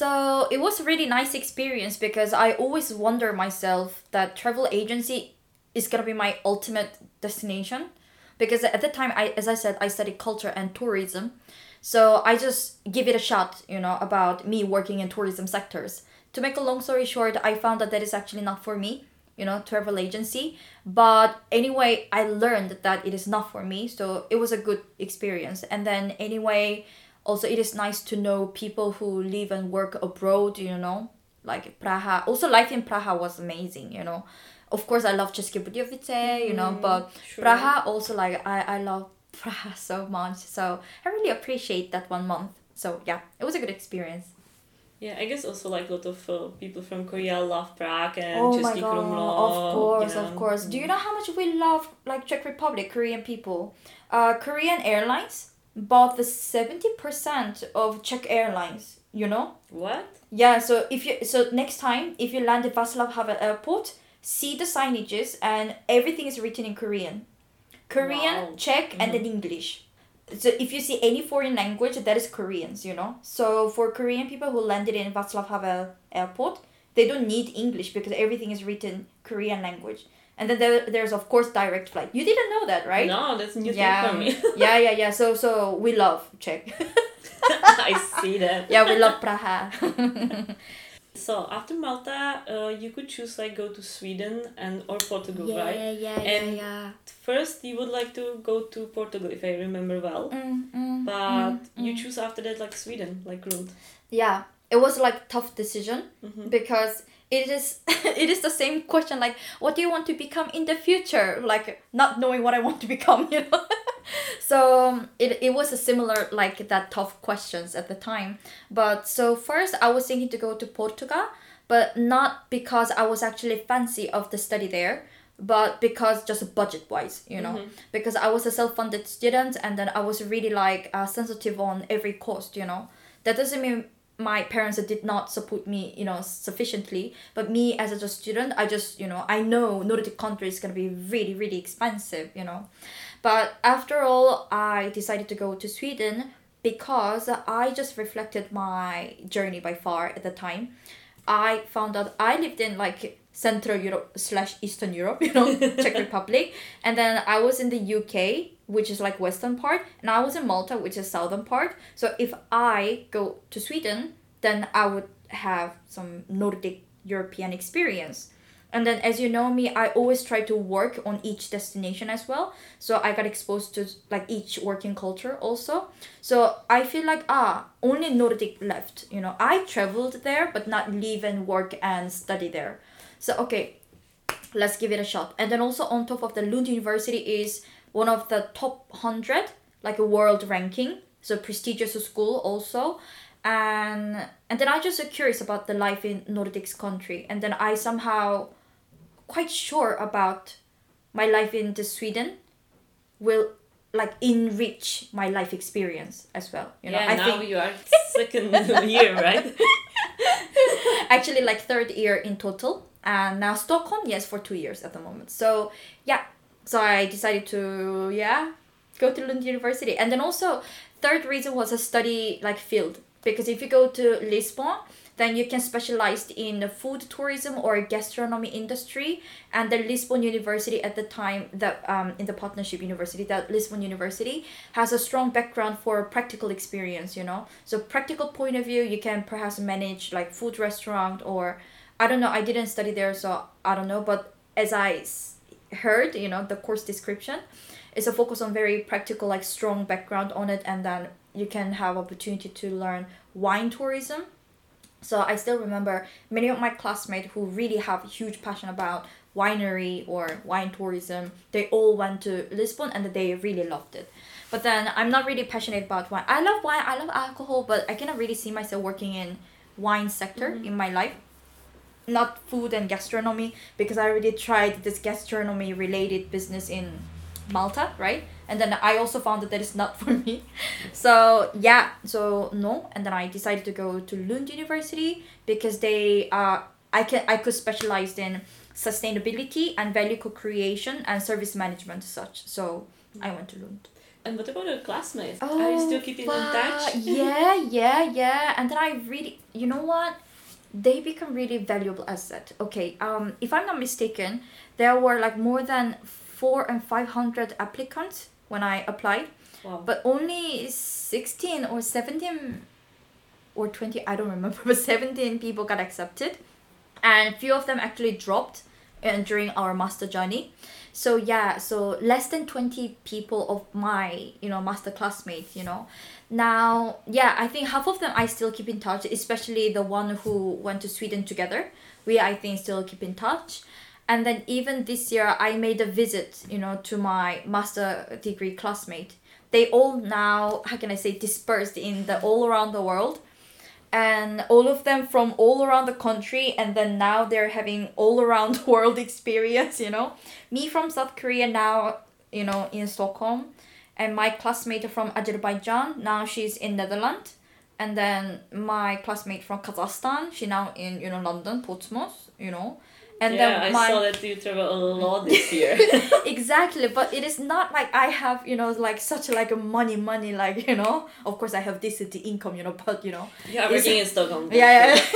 So it was a really nice experience, because I always wonder myself that travel agency is gonna be my ultimate destination. Because at the time, I, as I said, I studied culture and tourism. So I just give it a shot, you know, about me working in tourism sectors. To make a long story short, I found that that is actually not for me, you know, travel agency. But anyway, I learned that it is not for me. So it was a good experience. And then anyway, also it is nice to know people who live and work abroad, you know, like Praha. Also life in Praha was amazing, you know. Of course, I love České Budějovice, you know, Mm, but sure. Praha also, like, I, I love Praha so much. So I really appreciate that one month. So yeah, it was a good experience. Yeah, I guess also like a lot of uh, people from Korea love Prague and Oh my Český god, Krumlov. of course, you know. of course. Do you know how much we love, like, Czech Republic, Korean people? Uh, Korean Airlines bought the seventy percent of Czech Airlines, you know? What? Yeah, so if you so next time if you land at Václav Havel Airport, see the signages and everything is written in Korean. Korean, Wow. Czech, and then English. So if you see any foreign language, that is Koreans, you know. So for Korean people who landed in Václav Havel Airport, they don't need English because everything is written Korean language. And then there, there's of course direct flight. You didn't know that, right? No, that's new Yeah, thing for me. yeah, yeah, yeah. So so we love Czech. I see that. Yeah, we love Praha. So after Malta, uh, you could choose like go to Sweden and or Portugal, yeah, right? yeah, yeah, And yeah. First, you would like to go to Portugal, if I remember well. Mm, mm, But mm, you mm. choose after that like Sweden, like Lund. Yeah, it was like tough decision Mhm. because it is it is the same question, like, what do you want to become in the future? Like, not knowing what I want to become, you know. so it, it was a similar like that tough questions at the time. But so first I was thinking to go to Portugal, but not because I was actually fancy of the study there, but because just budget wise, you know, mm-hmm. because I was a self-funded student, and then I was really like uh, sensitive on every cost, you know. That doesn't mean my parents did not support me, you know, sufficiently, but me as a student, I just, you know, I know Nordic country is going to be really, really expensive, you know. But after all, I decided to go to Sweden because I just reflected my journey by far at the time. I found out I lived in like Central Europe slash Eastern Europe, you know, Czech Republic. And then I was in the U K, which is like western part. And I was in Malta, which is southern part. So if I go to Sweden, then I would have some Nordic European experience. And then as you know me, I always try to work on each destination as well. So I got exposed to like each working culture also. So I feel like, ah, only Nordic left. You know, I traveled there, but not live and work and study there. So, okay, let's give it a shot. And then also on top of the Lund University is one of the top one hundred, like a world ranking. So prestigious school also. And and then I just so curious about the life in Nordics country. And then I somehow quite sure about my life in the Sweden will like enrich my life experience as well. You know, yeah, I now think you are second year, right? Actually, like third year in total. And now Stockholm, yes, for two years at the moment. So yeah, so I decided to, yeah, go to Lund University. And then also third reason was a study like field. Because if you go to Lisbon, then you can specialize in the food tourism or gastronomy industry. And the Lisbon University at the time, that um, in the partnership university, that Lisbon University has a strong background for practical experience, you know. So practical point of view, you can perhaps manage like food restaurant or, I don't know, I didn't study there, so I don't know. But as I heard, you know, the course description is a focus on very practical, like strong background on it. And then you can have opportunity to learn wine tourism. So I still remember many of my classmates who really have huge passion about winery or wine tourism. They all went to Lisbon and they really loved it. But then I'm not really passionate about wine. I love wine, I love alcohol, but I cannot really see myself working in wine sector mm-hmm. in my life. Not food and gastronomy, because I already tried this gastronomy related business in Malta, right? And then I also found that that is not for me. So yeah, so no. And then I decided to go to Lund University because they uh I can I could specialize in sustainability and value co-creation and service management as such. So I went to Lund. And what about your classmates? Oh, Are you still keeping in touch? yeah, yeah, yeah. And then I really, you know what? They become really valuable asset. Okay, um, if I'm not mistaken, there were like more than four and five hundred applicants when I applied, wow. But only sixteen or seventeen or twenty, I don't remember, but seventeen people got accepted, and few of them actually dropped uh, during our master journey. So yeah, so less than twenty people of my, you know, master classmates, you know. Now, yeah, I think half of them I still keep in touch, especially the one who went to Sweden together. We, I think, still keep in touch. And then even this year, I made a visit, you know, to my master degree classmate. They all now, how can I say, dispersed in the all around the world. And all of them from all around the country. And then now they're having all around world experience, you know. Me from South Korea now, you know, in Stockholm. And my classmate from Azerbaijan, now she's in Netherlands. And then my classmate from Kazakhstan, she now in, you know, London, Portsmouth, you know. And yeah, then I my... saw that you travel a lot this year. Exactly, but it is not like I have, you know, like such like a money, money, like, you know. Of course, I have decent income, you know, but, you know. Yeah, working in Stockholm. Yeah, yeah.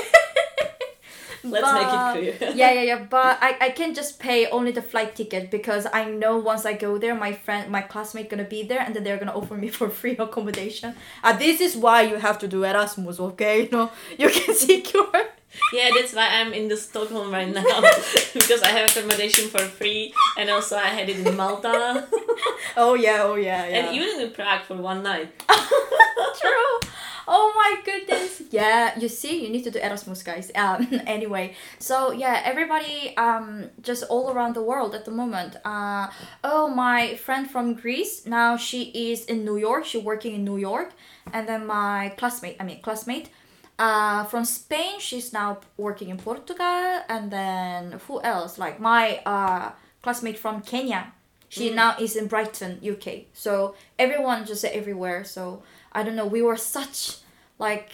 Let's but, make it clear. yeah, yeah, yeah. But I, I can just pay only the flight ticket because I know once I go there, my friend, my classmate gonna be there, and then they're gonna offer me for free accommodation. Uh, this is why you have to do Erasmus, okay? You know, you can secure. Yeah, that's why I'm in the Stockholm right now because I have accommodation for free, and also I had it in Malta. Oh yeah, oh yeah, yeah. And even in Prague for one night. True. Oh my goodness. Yeah, you see, you need to do Erasmus, guys. Um, anyway, so yeah, everybody um just all around the world at the moment. Uh, oh, my friend from Greece, now she is in New York. She's working in New York. And then my classmate, I mean classmate, uh, from Spain, she's now working in Portugal. And then who else? Like my uh classmate from Kenya. She Mm. now is in Brighton, U K. So everyone just everywhere. So I don't know. We were such like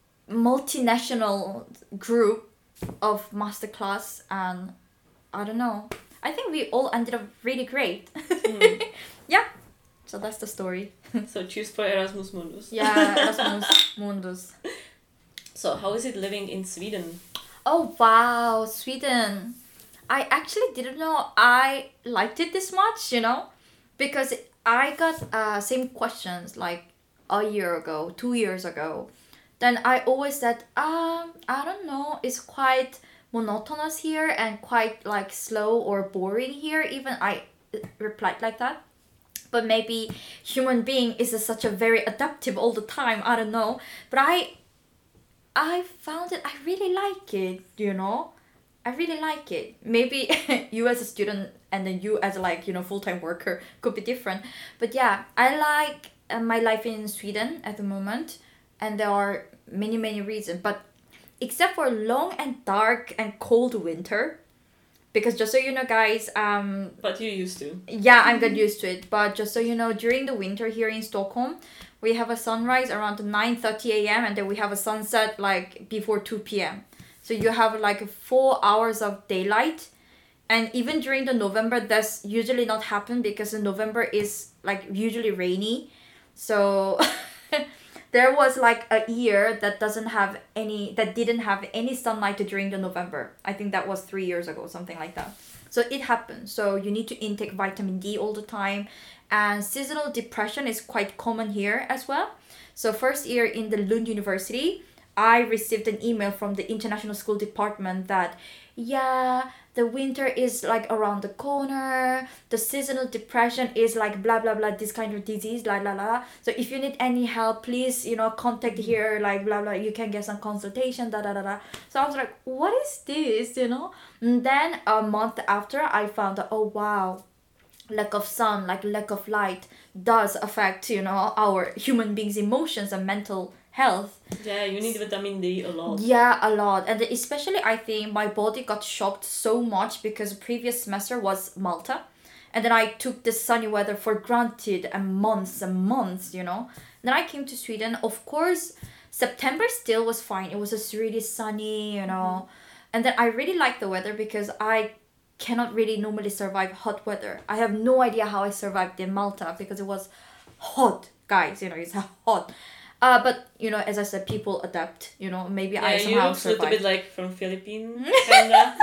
multinational group of masterclass, and I don't know. I think we all ended up really great. Mm. Yeah. So that's the story. So choose for Erasmus Mundus. Yeah, Erasmus Mundus. So how is it living in Sweden? Oh wow, Sweden. I actually didn't know I liked it this much, you know, because I got uh same questions like a year ago, two years ago. Then I always said, um, I don't know, it's quite monotonous here and quite like slow or boring here. Even I uh, replied like that. But maybe human being is a, such a very adaptive all the time. I don't know, but I I found it. I really like it. You know, I really like it. Maybe you as a student and then you as like you know full time worker could be different. But yeah, I like uh, my life in Sweden at the moment, and there are many many reasons. But except for long and dark and cold winter, because just so you know, guys, um, But you used to. yeah, I'm got used to it. But just so you know, during the winter here in Stockholm, we have a sunrise around nine thirty a.m. and then we have a sunset like before two p.m. So you have like four hours of daylight. And even during the November, that's usually not happen because the November is like usually rainy. So there was like a year that doesn't have any, that didn't have any sunlight during the November. I think that was three years ago, something like that. So it happens. So you need to intake vitamin D all the time. And seasonal depression is quite common here as well. So first year in the Lund University, I received an email from the international school department that, yeah, the winter is like around the corner. The seasonal depression is like blah, blah, blah, this kind of disease, blah, blah, blah. So if you need any help, please, you know, contact here, like blah, blah, you can get some consultation, da, da, da, da. So I was like, what is this, you know? And then a month after, I found out, oh, wow, lack of sun, like lack of light does affect, you know, our human beings' emotions and mental health. Yeah, you need vitamin D a lot. Yeah, a lot. And especially I think my body got shocked so much because the previous semester was Malta. And then I took the sunny weather for granted and months and months, you know. Then I came to Sweden. Of course, September still was fine. It was just really sunny, you know. Mm-hmm. And then I really liked the weather because I cannot really normally survive hot weather. I have no idea how I survived in Malta because it was hot, guys, you know, it's hot. Uh, but, you know, as I said, people adapt, you know, maybe Yeah, I you somehow look a survived. little bit like from Philippines, kinda.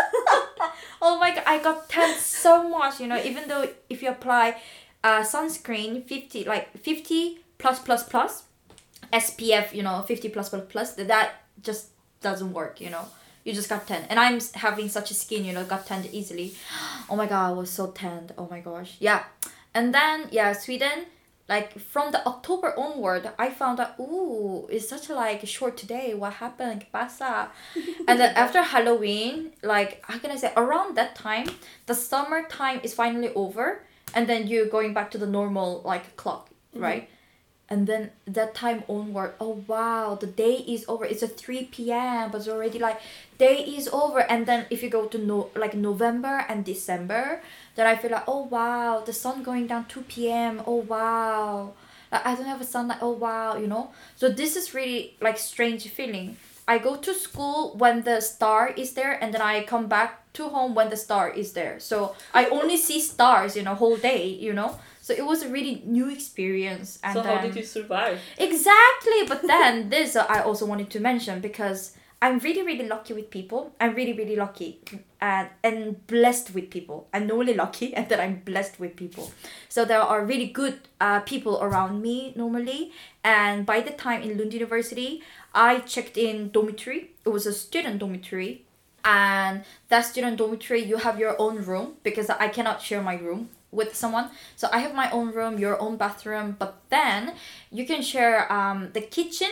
Oh my god, I got tanned so much, you know, even though if you apply uh, sunscreen fifty, like fifty plus plus plus, S P F, you know, fifty plus plus plus, that just doesn't work, you know. You just got tanned. And I'm having such a skin, you know, got tanned easily. Oh my god, I was so tanned. Oh my gosh. Yeah. And then, yeah, Sweden, like from the October onward, I found out, ooh, it's such a like short today. What happened? ¿Qué pasa? And then after Halloween, like, how can I say, around that time, the summer time is finally over. And then you're going back to the normal, like, clock, right? Mm-hmm. And then that time onward, oh wow, the day is over. It's at three p.m. but it's already like day is over. And then if you go to no like November and December, then I feel like, oh wow, the sun going down two p.m. Oh wow, like I don't have a sunlight. Oh wow, you know. So this is really like strange feeling. I go to school when the star is there, and then I come back to home when the star is there. So I only see stars, you know, whole day, you know. So it was a really new experience. And so how then, did you survive? Exactly. But then this uh, I also wanted to mention because I'm really, really lucky with people. I'm really, really lucky and, and blessed with people. I'm not only lucky and that I'm blessed with people. So there are really good uh, people around me normally. And by the time in Lund University, I checked in dormitory. It was a student dormitory. And that student dormitory, you have your own room because I cannot share my room with someone. So I have my own room, your own bathroom, but then you can share um, the kitchen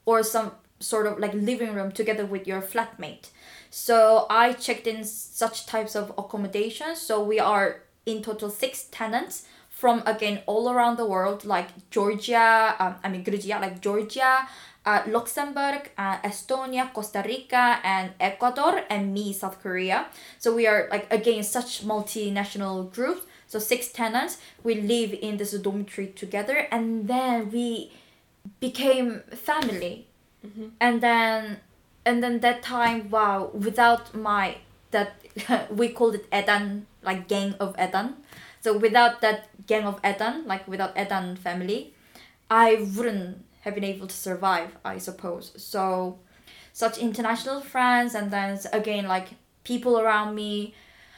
or some sort of like living room together with your flatmate. So I checked in such types of accommodations. So we are in total six tenants from, again, all around the world, like Georgia, um, I mean Georgia, like Georgia, uh, Luxembourg, uh, Estonia, Costa Rica, and Ecuador, and me, South Korea. So we are like, again, such multinational groups. So six tenants, we live in this dormitory together, and then we became family. Mm-hmm. And then, and then that time, wow, without my, that, we called it Edan, like gang of Edan. So without that gang of Edan, like without Edan family, I wouldn't have been able to survive, I suppose. So such international friends, and then again, like people around me,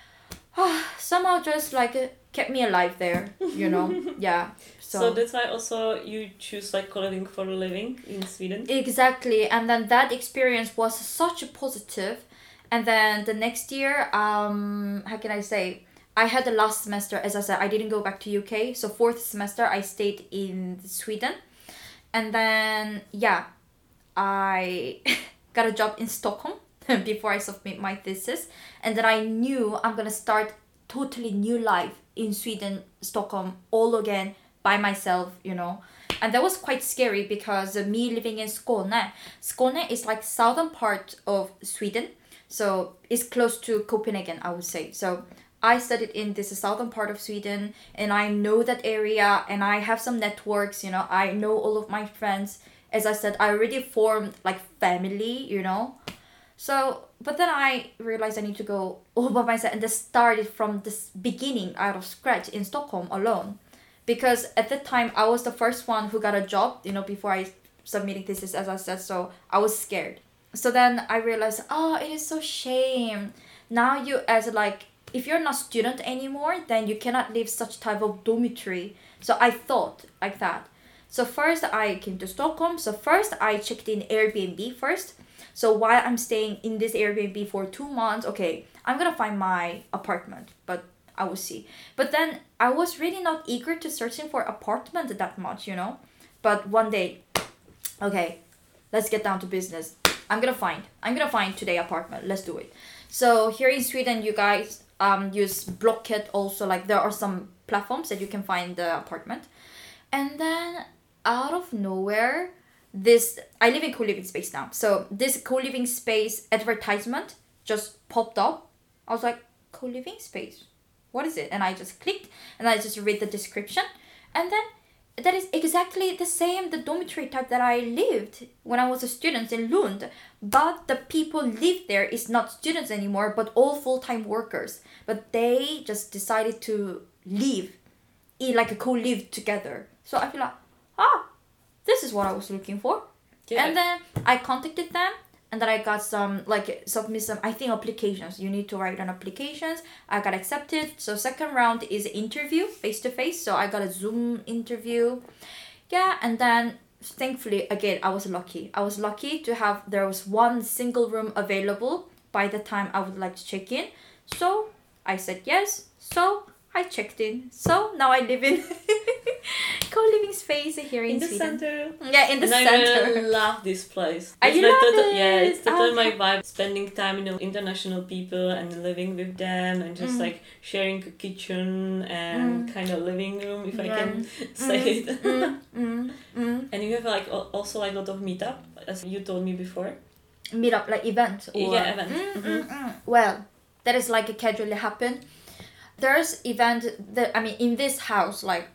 somehow just like kept me alive there, you know. Yeah. So. so that's why also you choose like co-living for a living in Sweden. Exactly. And then that experience was such a positive. And then the next year, um how can I say, I had the last semester, as I said, I didn't go back to U K. So fourth semester, I stayed in Sweden. And then, yeah, I got a job in Stockholm before I submit my thesis. And then I knew I'm going to start totally new life in Sweden, Stockholm, all again by myself, you know. And that was quite scary because uh, me living in Skåne, Skåne is like southern part of Sweden. So it's close to Copenhagen, I would say. So I studied in this southern part of Sweden, and I know that area, and I have some networks, you know, I know all of my friends. As I said, I already formed like family, you know. So, but then I realized I need to go all by myself, and just started from this beginning out of scratch in Stockholm alone. Because at that time, I was the first one who got a job, you know, before I submitted thesis, as I said, so I was scared. So then I realized, oh, it is so shame. Now you as like, if you're not student anymore, then you cannot live such type of dormitory. So I thought like that. So first I came to Stockholm. So first I checked in Airbnb first. So while I'm staying in this Airbnb for two months, okay, I'm gonna find my apartment, but I will see. But then I was really not eager to searching for apartment that much, you know. But one day, okay, let's get down to business. I'm gonna find. I'm gonna find today apartment. Let's do it. So here in Sweden, you guys um use Blocket also. Like there are some platforms that you can find the apartment. And then out of nowhere, this I live in co-living space now. So this co-living space advertisement just popped up. I was like, co-living space? What is it? And I just clicked and I just read the description. And then that is exactly the same, the dormitory type that I lived when I was a student in Lund. But the people live there is not students anymore, but all full-time workers. But they just decided to live, in like a co-live together. So I feel like, ah, this is what I was looking for. Yeah. And then I contacted them. And then I got some, like, submit some, I think, applications. You need to write on applications. I got accepted. So second round is interview, face-to-face. So I got a Zoom interview. Yeah, and then, thankfully, again, I was lucky. I was lucky to have, there was one single room available by the time I would like to check in. So I said yes. So I checked in. So now I live in co-living space here in, in the Sweden. center. Yeah, in the and center. I love this place. I it's love like total, it. Yeah, it's totally Okay. my vibe. Spending time, you know, international people and living with them, and just Mm. like sharing a kitchen and Mm. kind of living room, if I Yeah. can say Mm, it. mm, mm, mm. And you have like al- also like a lot of meetup, as you told me before. Meet up like event or Yeah, event. Mm, Mhm. mm, mm. Well, that is like a casually happen. There's event that I mean in this house, like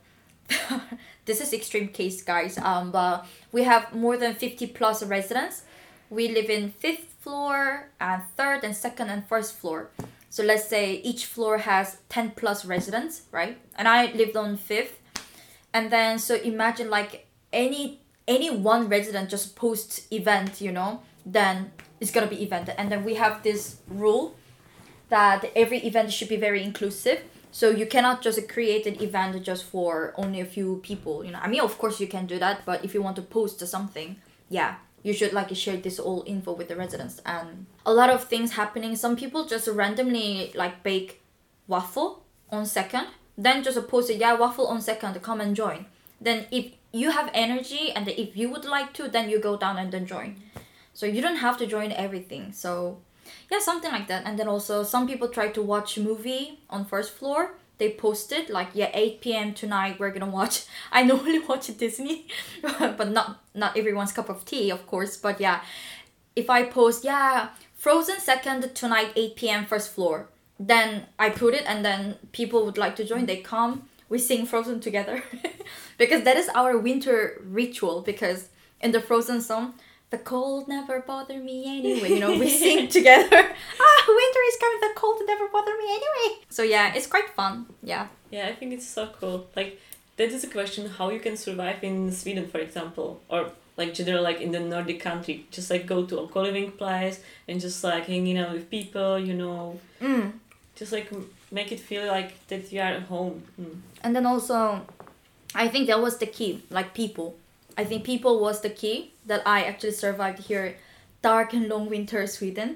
this is extreme case, guys. Um, but we have more than fifty plus residents. We live in fifth floor and third and second and first floor. So let's say each floor has ten plus residents, right? And I lived on fifth. And then so imagine like any any one resident just posts event, you know, then it's gonna be event. And then we have this rule that every event should be very inclusive. So you cannot just create an event just for only a few people, you know. I mean, of course you can do that, but if you want to post something, yeah, you should like share this all info with the residents. And a lot of things happening. Some people just randomly like bake waffle on second, then just post it, yeah, waffle on second, come and join. Then if you have energy, and if you would like to, then you go down and then join. So you don't have to join everything. So yeah, something like that. And then also some people try to watch movie on first floor. They posted like, yeah, eight p.m. tonight we're gonna watch. I normally watch Disney, but not not everyone's cup of tea, of course. But yeah, if I post, yeah, Frozen second tonight eight p.m. first floor, then I put it, and then people would like to join. They come, we sing Frozen together, because that is our winter ritual. Because in the Frozen song, the cold never bother me anyway. You know, we sing together. Ah, winter is coming. The cold never bother me anyway. So yeah, it's quite fun. Yeah. Yeah, I think it's so cool. Like, that is a question how you can survive in Sweden, for example, or like general, like in the Nordic country. Just like go to a co-living place and just like hanging out with people, you know. Mm. Just like make it feel like that you are at home. Mm. And then also, I think that was the key. Like people. I think people was the key that I actually survived here, dark and long winter Sweden.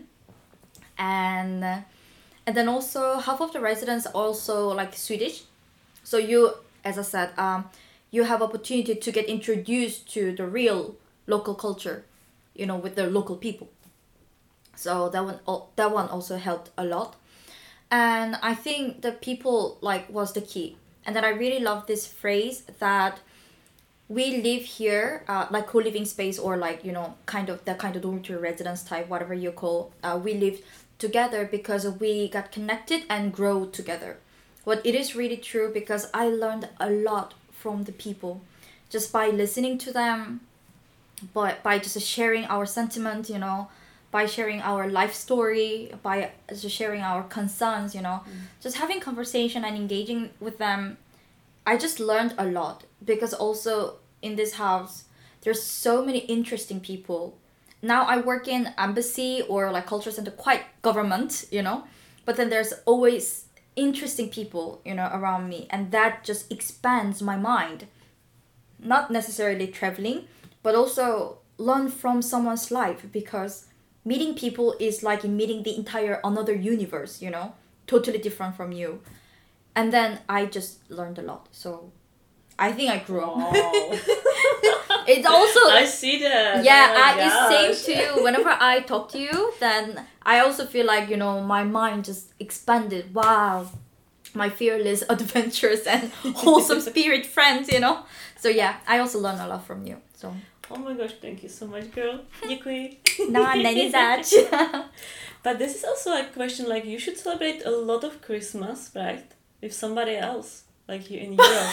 And uh, and then also half of the residents are also like Swedish. So you, as I said, um, you have opportunity to get introduced to the real local culture, you know, with the local people. So that one, that one also helped a lot. And I think the people like was the key. And then I really love this phrase that we live here, uh, like co-living space, or like, you know, kind of that kind of dormitory residence type, whatever you call. Uh, we live together because we got connected and grow together. What it is really true, because I learned a lot from the people just by listening to them, but by just sharing our sentiment, you know, by sharing our life story, by just sharing our concerns, you know, mm. just having conversation and engaging with them. I just learned a lot, because also in this house there's so many interesting people. Now I work in embassy or like culture center, quite government, you know, but then there's always interesting people, you know, around me, and that just expands my mind. Not necessarily traveling, but also learn from someone's life, because meeting people is like meeting the entire another universe, you know, totally different from you. And then I just learned a lot. So I think I grew up. Oh. It's also... I see that. Yeah, oh I, it's same to you. Whenever I talk to you, then I also feel like, you know, my mind just expanded. Wow. My fearless, adventurous and wholesome spirit friends, you know. So yeah, I also learned a lot from you. So. Oh my gosh, thank you so much, girl. Děkuji. No, není zač. But this is also a question, like, you should celebrate a lot of Christmas, right? With somebody else, like you in Europe.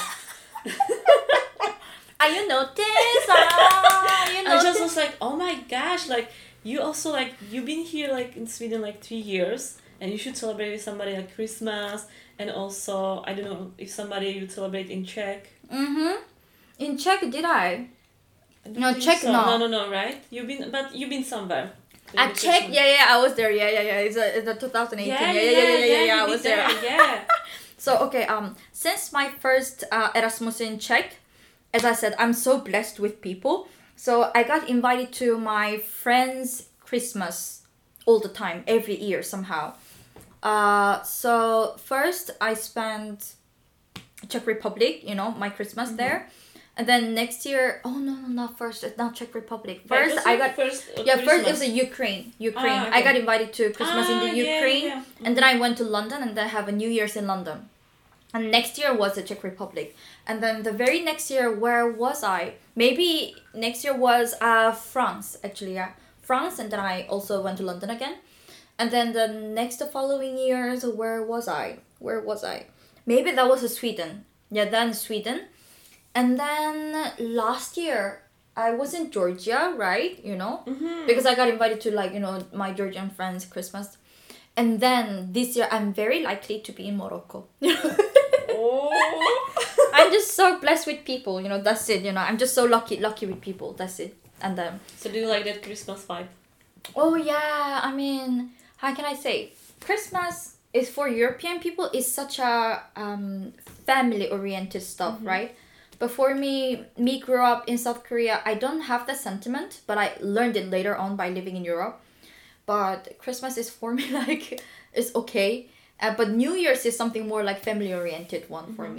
Are you notice? Ah, you I just was like, oh my gosh, like you also like you've been here like in Sweden like three years, and you should celebrate with somebody like Christmas, and also I don't know if somebody you celebrate in Czech. Mhm. In Czech, did I? I No, Czech, so. no. No, no, no, right? You've been, but you've been somewhere. At Czech, yeah, yeah, I was there. Yeah, yeah, yeah. It's a, it's a twenty eighteen. Yeah, Yeah, yeah, yeah, yeah, yeah. yeah, I was there. there. Yeah. So okay, um, since my first uh, Erasmus in Czech, as I said, I'm so blessed with people. So I got invited to my friends' Christmas all the time, every year somehow. Uh, so first I spent Czech Republic, you know, my Christmas mm-hmm. there. And then next year, oh no, no, not first, it's not Czech Republic. First, I got first. Uh, yeah, Christmas. first it was a Ukraine, Ukraine. Ah, okay. I got invited to Christmas ah, in the yeah, Ukraine, yeah, yeah. and then I went to London, and then have a New Year's in London. And next year was the Czech Republic, and then the very next year, where was I? Maybe next year was uh France, actually, yeah, France, and then I also went to London again, and then the next the following years, where was I? Where was I? Maybe that was Sweden. Yeah, then Sweden. And then last year, I was in Georgia, right? You know, mm-hmm. because I got invited to like, you know, my Georgian friends' Christmas. And then this year, I'm very likely to be in Morocco. Oh. I'm just so blessed with people, you know, that's it, you know. I'm just so lucky, lucky with people, that's it. And then... So do you like that Christmas vibe? Oh yeah, I mean, how can I say? Christmas is for European people is such a um, family-oriented stuff, mm-hmm. right? But for me, me grew up in South Korea, I don't have the sentiment, but I learned it later on by living in Europe. But Christmas is for me like, it's okay. Uh, but New Year's is something more like family-oriented one mm-hmm. for me.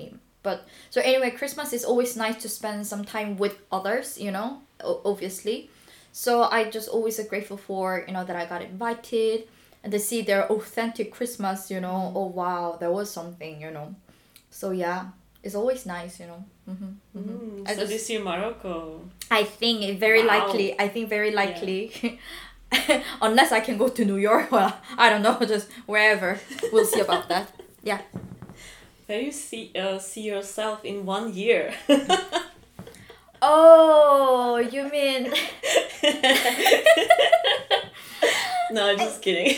But so anyway, Christmas is always nice to spend some time with others, you know, o- obviously. So I just always are grateful for, you know, that I got invited and to see their authentic Christmas, you know. Oh wow, there was something, you know. So yeah, it's always nice, you know. Mm-hmm, mm-hmm. Mm, I so just- this year Morocco. I think it very Wow. likely. I think very likely. Unless I can go to New York, well, I don't know, just wherever. We'll see about that. Yeah. Where you see uh, see yourself in one year? Oh, you mean No, just kidding.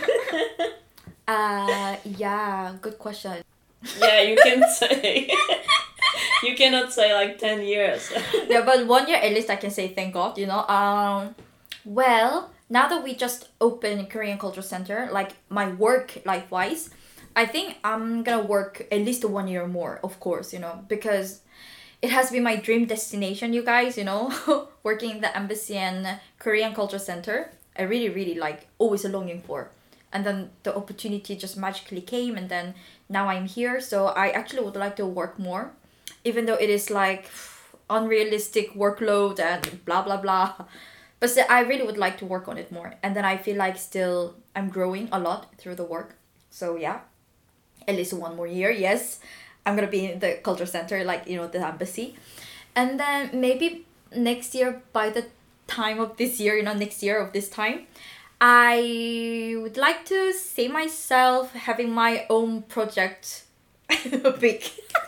uh yeah, good question. Yeah, you can say. You cannot say like ten years. Yeah, but one year at least I can say thank God, you know. Um well, now that we just opened Korean Culture Center, like my work life wise, I think I'm gonna work at least one year more, of course, you know, because it has been my dream destination, you guys, you know, working in the embassy and Korean Culture Center. I really, really like always longing for. And then the opportunity just magically came, and then now I'm here. So I actually would like to work more, even though it is like unrealistic workload and blah, blah, blah. But still, I really would like to work on it more. And then I feel like still I'm growing a lot through the work. So yeah, at least one more year, yes. I'm gonna be in the culture center, like, you know, the embassy. And then maybe next year, by the time of this year, you know, next year of this time, I would like to see myself having my own project. Big.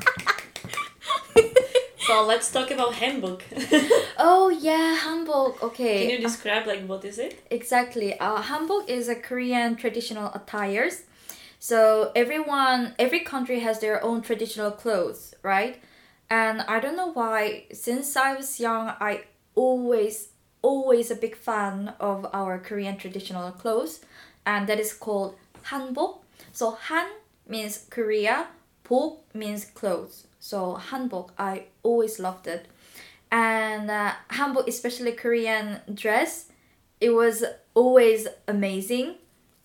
So let's talk about Hamburg. Oh yeah, Hamburg. Okay. Can you describe like what is it? Exactly. Uh, Hanbok is a Korean traditional attires. So everyone, every country has their own traditional clothes, right? And I don't know why, since I was young, I always, always a big fan of our Korean traditional clothes. And that is called Hanbok. So Han means Korea, Bok means clothes. So Hanbok, I always loved it. And uh, Hanbok, especially Korean dress, it was always amazing.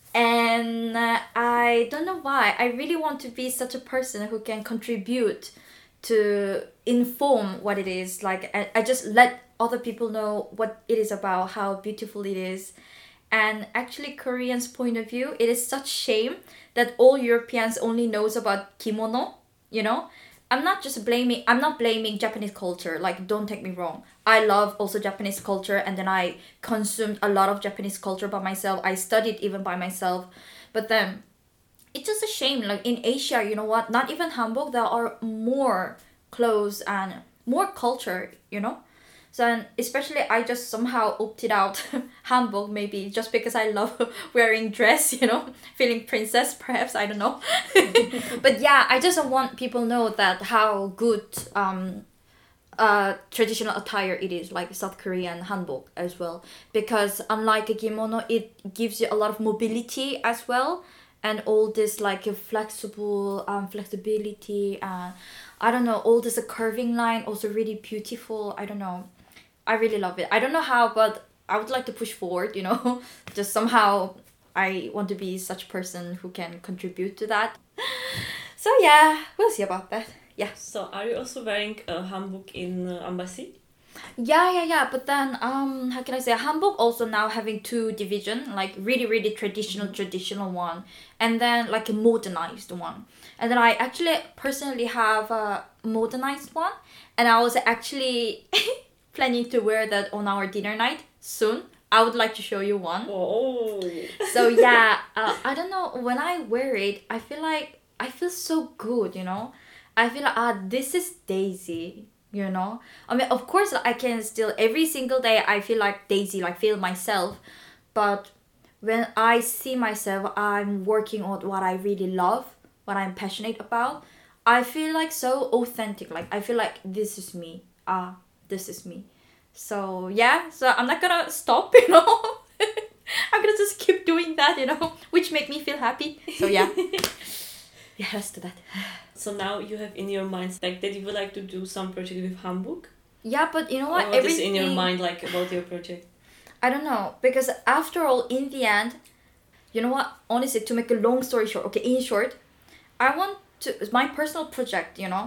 And uh, I don't know why, I really want to be such a person who can contribute to inform what it is. Like, I, I just let other people know what it is about, how beautiful it is. And actually, Koreans' point of view, it is such shame that all Europeans only knows about kimono, you know? I'm not just blaming, I'm not blaming Japanese culture, like, don't take me wrong. I love also Japanese culture, and then I consumed a lot of Japanese culture by myself. I studied even by myself. But then, it's just a shame, like, in Asia, you know what, not even Hamburg, there are more clothes and more culture, you know? So, and especially I just somehow opted out Hamburg, maybe just because I love wearing dress, you know, feeling princess, perhaps, I don't know. But yeah, I just want people know that how good um, uh, traditional attire it is, like South Korean hanbok as well. Because unlike a kimono, it gives you a lot of mobility as well. And all this like a flexible um, flexibility and I don't know, all this a curving line, also really beautiful. I don't know. I really love it. I don't know how, but I would like to push forward, you know. Just somehow I want to be such a person who can contribute to that. So yeah, we'll see about that. Yeah. So are you also wearing a hanbok in uh, embassy? Yeah, yeah, yeah. But then, um, how can I say? Hanbok also now having two division, like really, really traditional, mm-hmm. traditional one, and then like a modernized one. And then I actually personally have a modernized one, and I was actually planning to wear that on our dinner night soon. I would like to show you one. Oh. So yeah, uh, I don't know. When I wear it, I feel like I feel so good. You know, I feel like ah, this is Daisy. You know, I mean, of course, I can still every single day. I feel like Daisy, like feel myself, but when I see myself, I'm working on what I really love, what I'm passionate about. I feel like so authentic. Like I feel like this is me. Ah, this is me. So yeah, so I'm not gonna stop. You know, I'm gonna just keep doing that. You know, which make me feel happy. So yeah. Yeah, let's do that. So now you have in your mind like that you would like to do some project with hanbok? Yeah, but you know what? Or what Everything... is in your mind like about your project? I don't know, because after all, in the end, you know what? Honestly, to make a long story short, okay, in short, I want to my personal project. You know,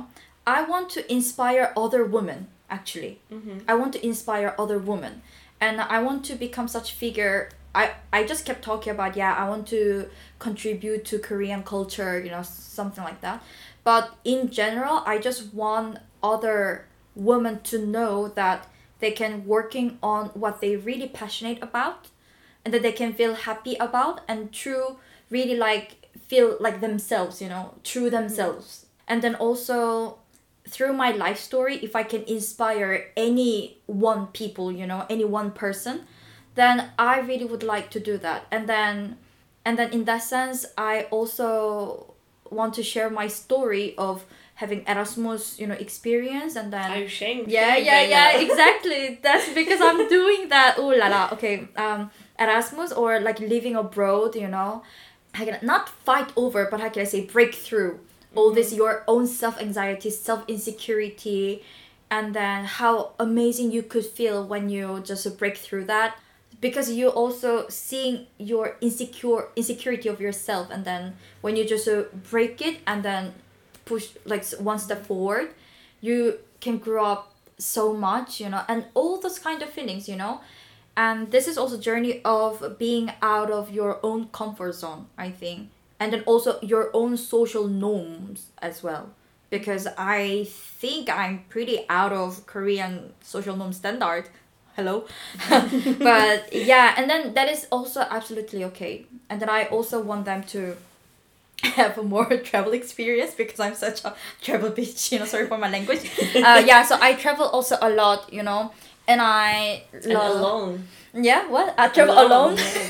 I want to inspire other women, actually. Mm-hmm. I want to inspire other women. And I want to become such figure. I, I just kept talking about, yeah, I want to contribute to Korean culture, you know, something like that. But in general, I just want other women to know that they can working on what they really passionate about and that they can feel happy about and true, really like feel like themselves, you know, true themselves. Mm-hmm. And then also through my life story, if I can inspire any one people, you know, any one person, then I really would like to do that. And then and then in that sense, I also want to share my story of having Erasmus, you know, experience. And then are you ashamed? Yeah, yeah, right yeah, now? exactly. That's because I'm doing that. Ooh la la. Okay, um, Erasmus or like living abroad, you know, I can not fight over, but how can I say break through all this your own self anxiety, self insecurity, and then how amazing you could feel when you just break through that, because you also seeing your insecure insecurity of yourself, and then when you just uh, break it and then push like one step forward, you can grow up so much, you know, and all those kind of feelings, you know. And this is also journey of being out of your own comfort zone, I think. And then also your own social norms as well. Because I think I'm pretty out of Korean social norm standard. Hello. But yeah, and then that is also absolutely okay. And then I also want them to have a more travel experience because I'm such a travel bitch, you know, sorry for my language. Uh, yeah, so I travel also a lot, you know, and I and love... alone. Yeah, what? I travel alone? alone? Yeah.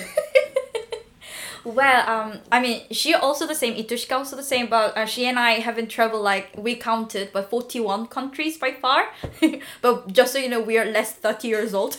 Well, um, I mean, she also the same, Itushka also the same, but uh, she and I haven't traveled, like, we counted, but forty-one countries by far. But just so you know, we are less thirty years old.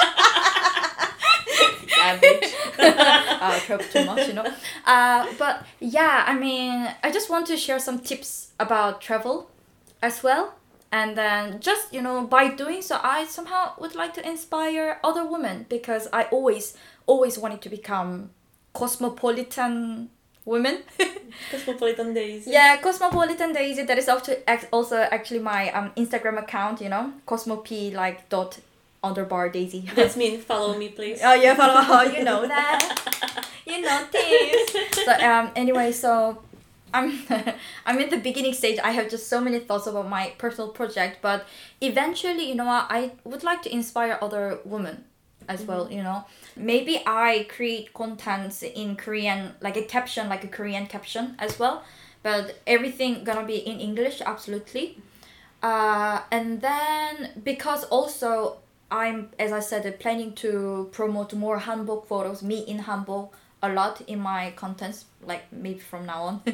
Average. uh, travel too much, you know. Uh, but yeah, I mean, I just want to share some tips about travel as well. And then just, you know, by doing so, I somehow would like to inspire other women because I always, always wanted to become cosmopolitan women. Cosmopolitan Daisy. Yeah, Cosmopolitan Daisy. That is also also actually my um Instagram account. You know, cosmop like dot underbar Daisy. That's me. Follow me, please. Oh yeah, follow. Oh, you know that. You know this. So um anyway, so I'm I'm in the beginning stage. I have just so many thoughts about my personal project, but eventually, you know what, I would like to inspire other women as mm-hmm. well, you know. Maybe I create contents in Korean, like a caption, like a Korean caption as well, but everything gonna be in English, absolutely. Uh, and then because also I'm, as I said, planning to promote more hanbok photos, me in hanbok, a lot in my contents, like maybe from now on.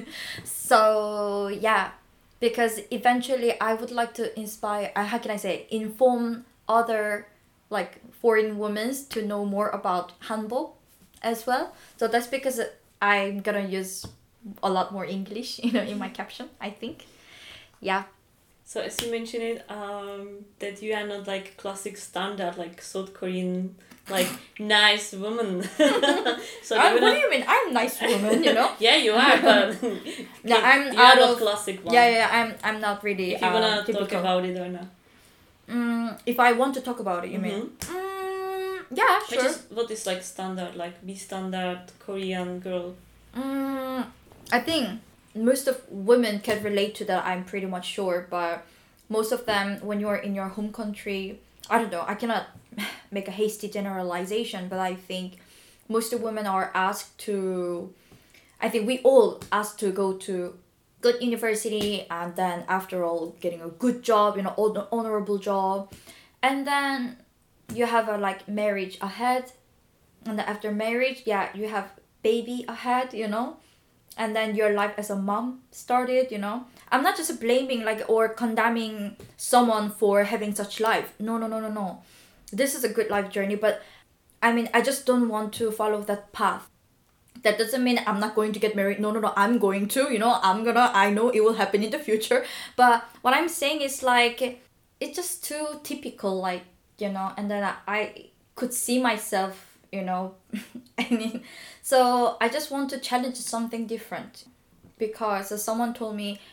So yeah, because eventually I would like to inspire, uh, how can I say, inform other like foreign women to know more about hanbok as well. So that's because I'm gonna use a lot more English, you know, in my caption, I think. Yeah. So as you mentioned it, um, that you are not like classic standard, like South Korean, like nice woman. So uh, what not... do you mean? I'm a nice woman, you know. Yeah, you are, but no, I'm you out are of not classic one. Yeah, yeah, I'm I'm not really. If you wanna uh, typical. talk about it or not. Mm, if I want to talk about it, you mm-hmm. mean? Mm, yeah, sure. Which is, what is like standard, like be standard Korean girl? Mm, I think most of women can relate to that, I'm pretty much sure, but most of them, when you're in your home country, I don't know, I cannot make a hasty generalization, but I think most of women are asked to, I think we all asked to go to good university, and then after all getting a good job, you know, honorable job, and then you have a like marriage ahead, and then after marriage, yeah, you have baby ahead, you know, and then your life as a mom started, you know. I'm not just blaming like or condemning someone for having such life. No, no, no, no, no. This is a good life journey, but I mean, I just don't want to follow that path. That doesn't mean I'm not going to get married. No, no, no, I'm going to, you know, I'm gonna, I know it will happen in the future. But what I'm saying is like, it's just too typical, like, you know, and then I, I could see myself, you know, I mean, so I just want to challenge something different. Because as someone told me,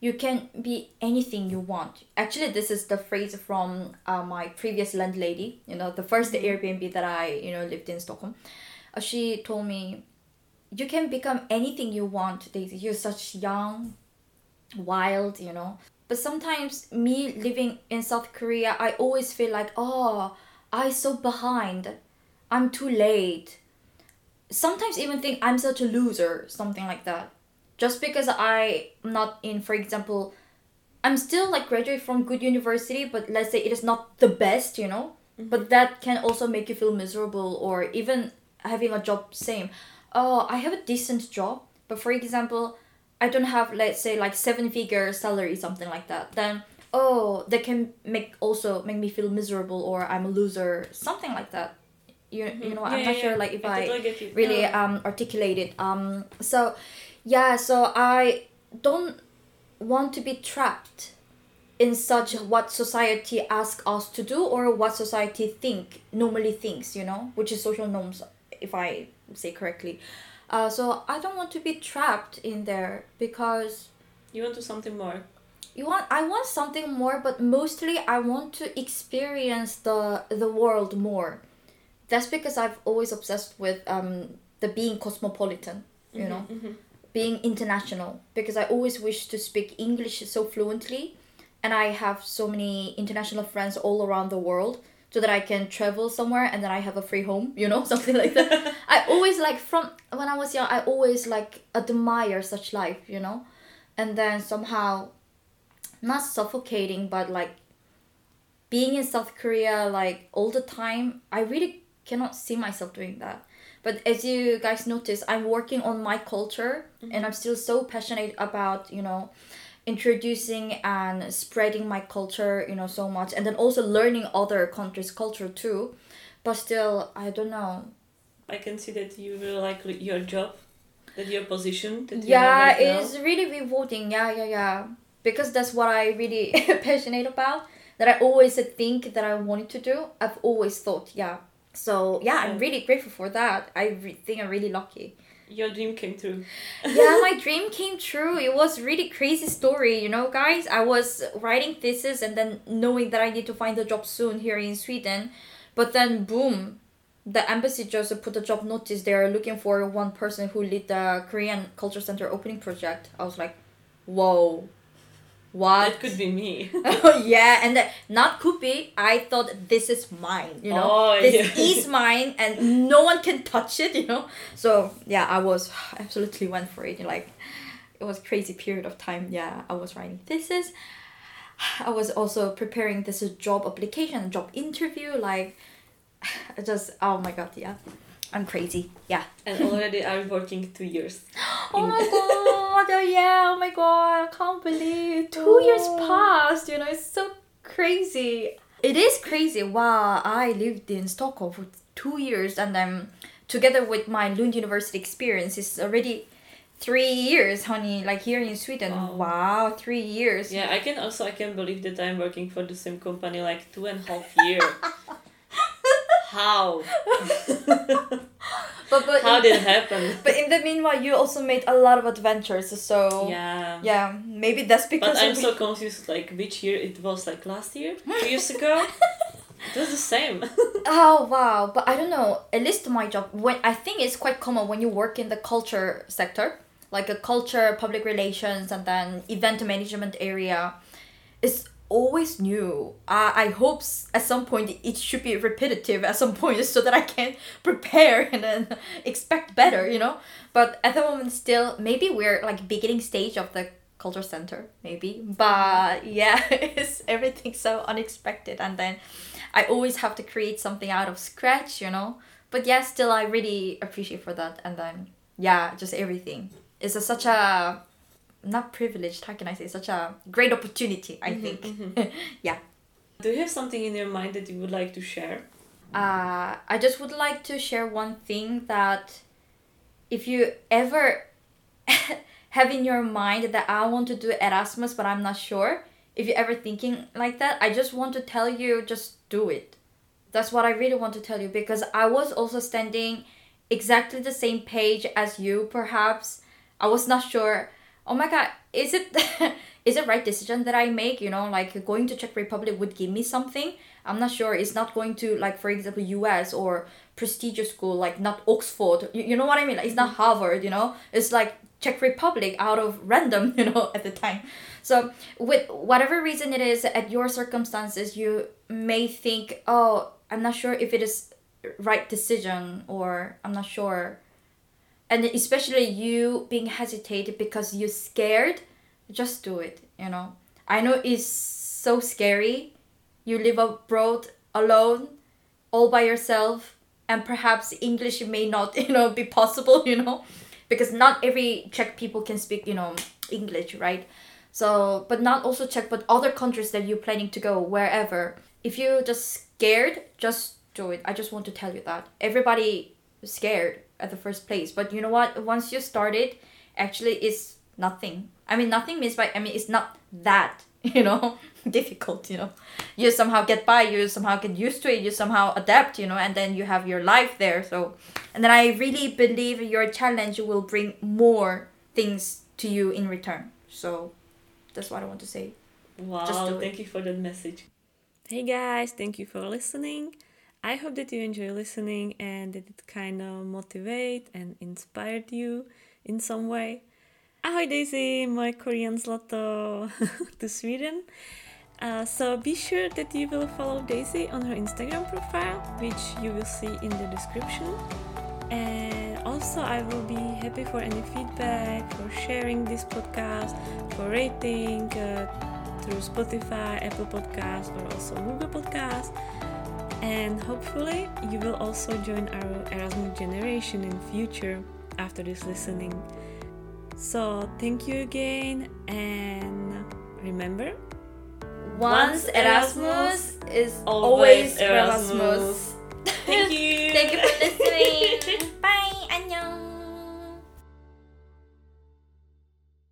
you can be anything you want. Actually, this is the phrase from uh, my previous landlady, you know, the first mm-hmm. Airbnb that I, you know, lived in Stockholm. Uh, she told me, you can become anything you want, Daisy. You're such young, wild, you know. But sometimes me living in South Korea, I always feel like, oh, I'm so behind. I'm too late. Sometimes even think I'm such a loser, something like that. Just because I'm not in, for example, I'm still like graduate from good university, but let's say it is not the best, you know. Mm-hmm. But that can also make you feel miserable, or even having a job, same. Oh, I have a decent job, but for example, I don't have, let's say, like seven figure salary, something like that. Then, oh, that can make also make me feel miserable, or I'm a loser, something like that. You, mm-hmm. you know, yeah, I'm not yeah, sure yeah. like if I, I totally really no. um articulate it. Um, so, yeah, so I don't want to be trapped in such what society asks us to do, or what society think normally thinks, you know, which is social norms, if I say correctly. Uh, so I don't want to be trapped in there, because you want to something more. You want I want something more, but mostly I want to experience the the world more. That's because I've always obsessed with um the being cosmopolitan, you mm-hmm, know, mm-hmm. being international, because I always wish to speak English so fluently, and I have so many international friends all around the world, so that I can travel somewhere and then I have a free home, you know, something like that. I always like, from when I was young, I always like admire such life, you know, and then somehow, not suffocating, but like being in South Korea like all the time, I really cannot see myself doing that. But as you guys notice, I'm working on my culture, mm-hmm. and I'm still so passionate about, you know, introducing and spreading my culture, you know, so much, and then also learning other countries' culture too. But still, I don't know. I can see that you really like your job, that your position that you yeah have right now. It's really rewarding. Yeah yeah yeah because that's what I really passionate about, that I always think that I wanted to do. I've always thought, yeah. So yeah, I'm really grateful for that. I re- think I'm really lucky. Your dream came true. Yeah, my dream came true. It was really crazy story, you know, guys. I was writing thesis and then knowing that I need to find a job soon here in Sweden. But then, boom, the embassy just put a job notice. They're looking for one person who lead the Korean Culture Center opening project. I was like, whoa. What? That could be me. Yeah, and that, not could be. I thought this is mine, you know. Oh, this yeah. is mine and no one can touch it, you know. So, yeah, I was absolutely went for it. Like, it was crazy period of time. Yeah, I was writing thesis. I was also preparing this job application, job interview. Like, I just, oh my god, yeah. I'm crazy. Yeah. And already I'm working two years. Oh my god, oh yeah, oh my god, I can't believe two oh. years passed, you know, it's so crazy. It is crazy. Wow, I lived in Stockholm for two years and then together with my Lund University experience, it's already three years, honey, like here in Sweden. Wow, wow three years. Yeah, I can also, I can believe that I'm working for the same company like two and a half years. How? but, but How in, did it happen? But in the meanwhile, you also made a lot of adventures, so yeah, yeah, maybe that's because. But I'm so confused. Like which year it was? Like last year, two years ago. It was the same. Oh wow! But I don't know. At least my job, when I think it's quite common when you work in the culture sector, like a culture, public relations, and then event management area, it's always new. Uh, I hope at some point it should be repetitive at some point so that I can prepare and then expect better, you know. But at the moment, still, maybe we're like beginning stage of the culture center, maybe. But yeah, it's everything so unexpected, and then I always have to create something out of scratch, you know. But yeah, still, I really appreciate for that, and then yeah, just everything. It's a, such a not privileged, how can I say, such a great opportunity, I mm-hmm, think. Mm-hmm. Yeah. Do you have something in your mind that you would like to share? Uh, I just would like to share one thing, that if you ever have in your mind that I want to do Erasmus but I'm not sure, if you're ever thinking like that, I just want to tell you, just do it. That's what I really want to tell you, because I was also standing exactly the same page as you, perhaps. I was not sure oh my god, is it is it right decision that I make? You know, like going to Czech Republic would give me something. I'm not sure. It's not going to, like, for example, U S or prestigious school, like not Oxford. You, you know what I mean? Like, it's not Harvard, you know? It's like Czech Republic out of random, you know, at the time. So with whatever reason it is, at your circumstances, you may think, oh, I'm not sure if it is right decision, or I'm not sure. And especially you being hesitated because you're scared, just do it, you know? I know it's so scary. You live abroad alone, all by yourself, and perhaps English may not, you know, be possible, you know, because not every Czech people can speak, you know, English, right? So, but not also Czech, but other countries that you're planning to go, wherever. If you're just scared, just do it. I just want to tell you that. Everybody is scared at the first place, but you know what? Once you started, actually it's nothing. I mean, nothing means by, I mean, it's not that, you know, difficult, you know. You somehow get by, you somehow get used to it, you somehow adapt, you know, and then you have your life there. So, and then I really believe your challenge will bring more things to you in return. So that's what I want to say. Wow, Just do thank it. you for that message. Hey guys, thank you for listening. I hope that you enjoy listening and that it kind of motivate and inspired you in some way. Ahoj Daisy, moje Korean zlato to Sweden. Uh, so be sure that you will follow Daisy on her Instagram profile, which you will see in the description. And also I will be happy for any feedback, for sharing this podcast, for rating uh, through Spotify, Apple Podcasts, or also Google Podcasts. And hopefully you will also join our Erasmus generation in future after this listening. So thank you again, and remember, Once Erasmus is always always Erasmus. Erasmus. Thank you. Thank you for listening.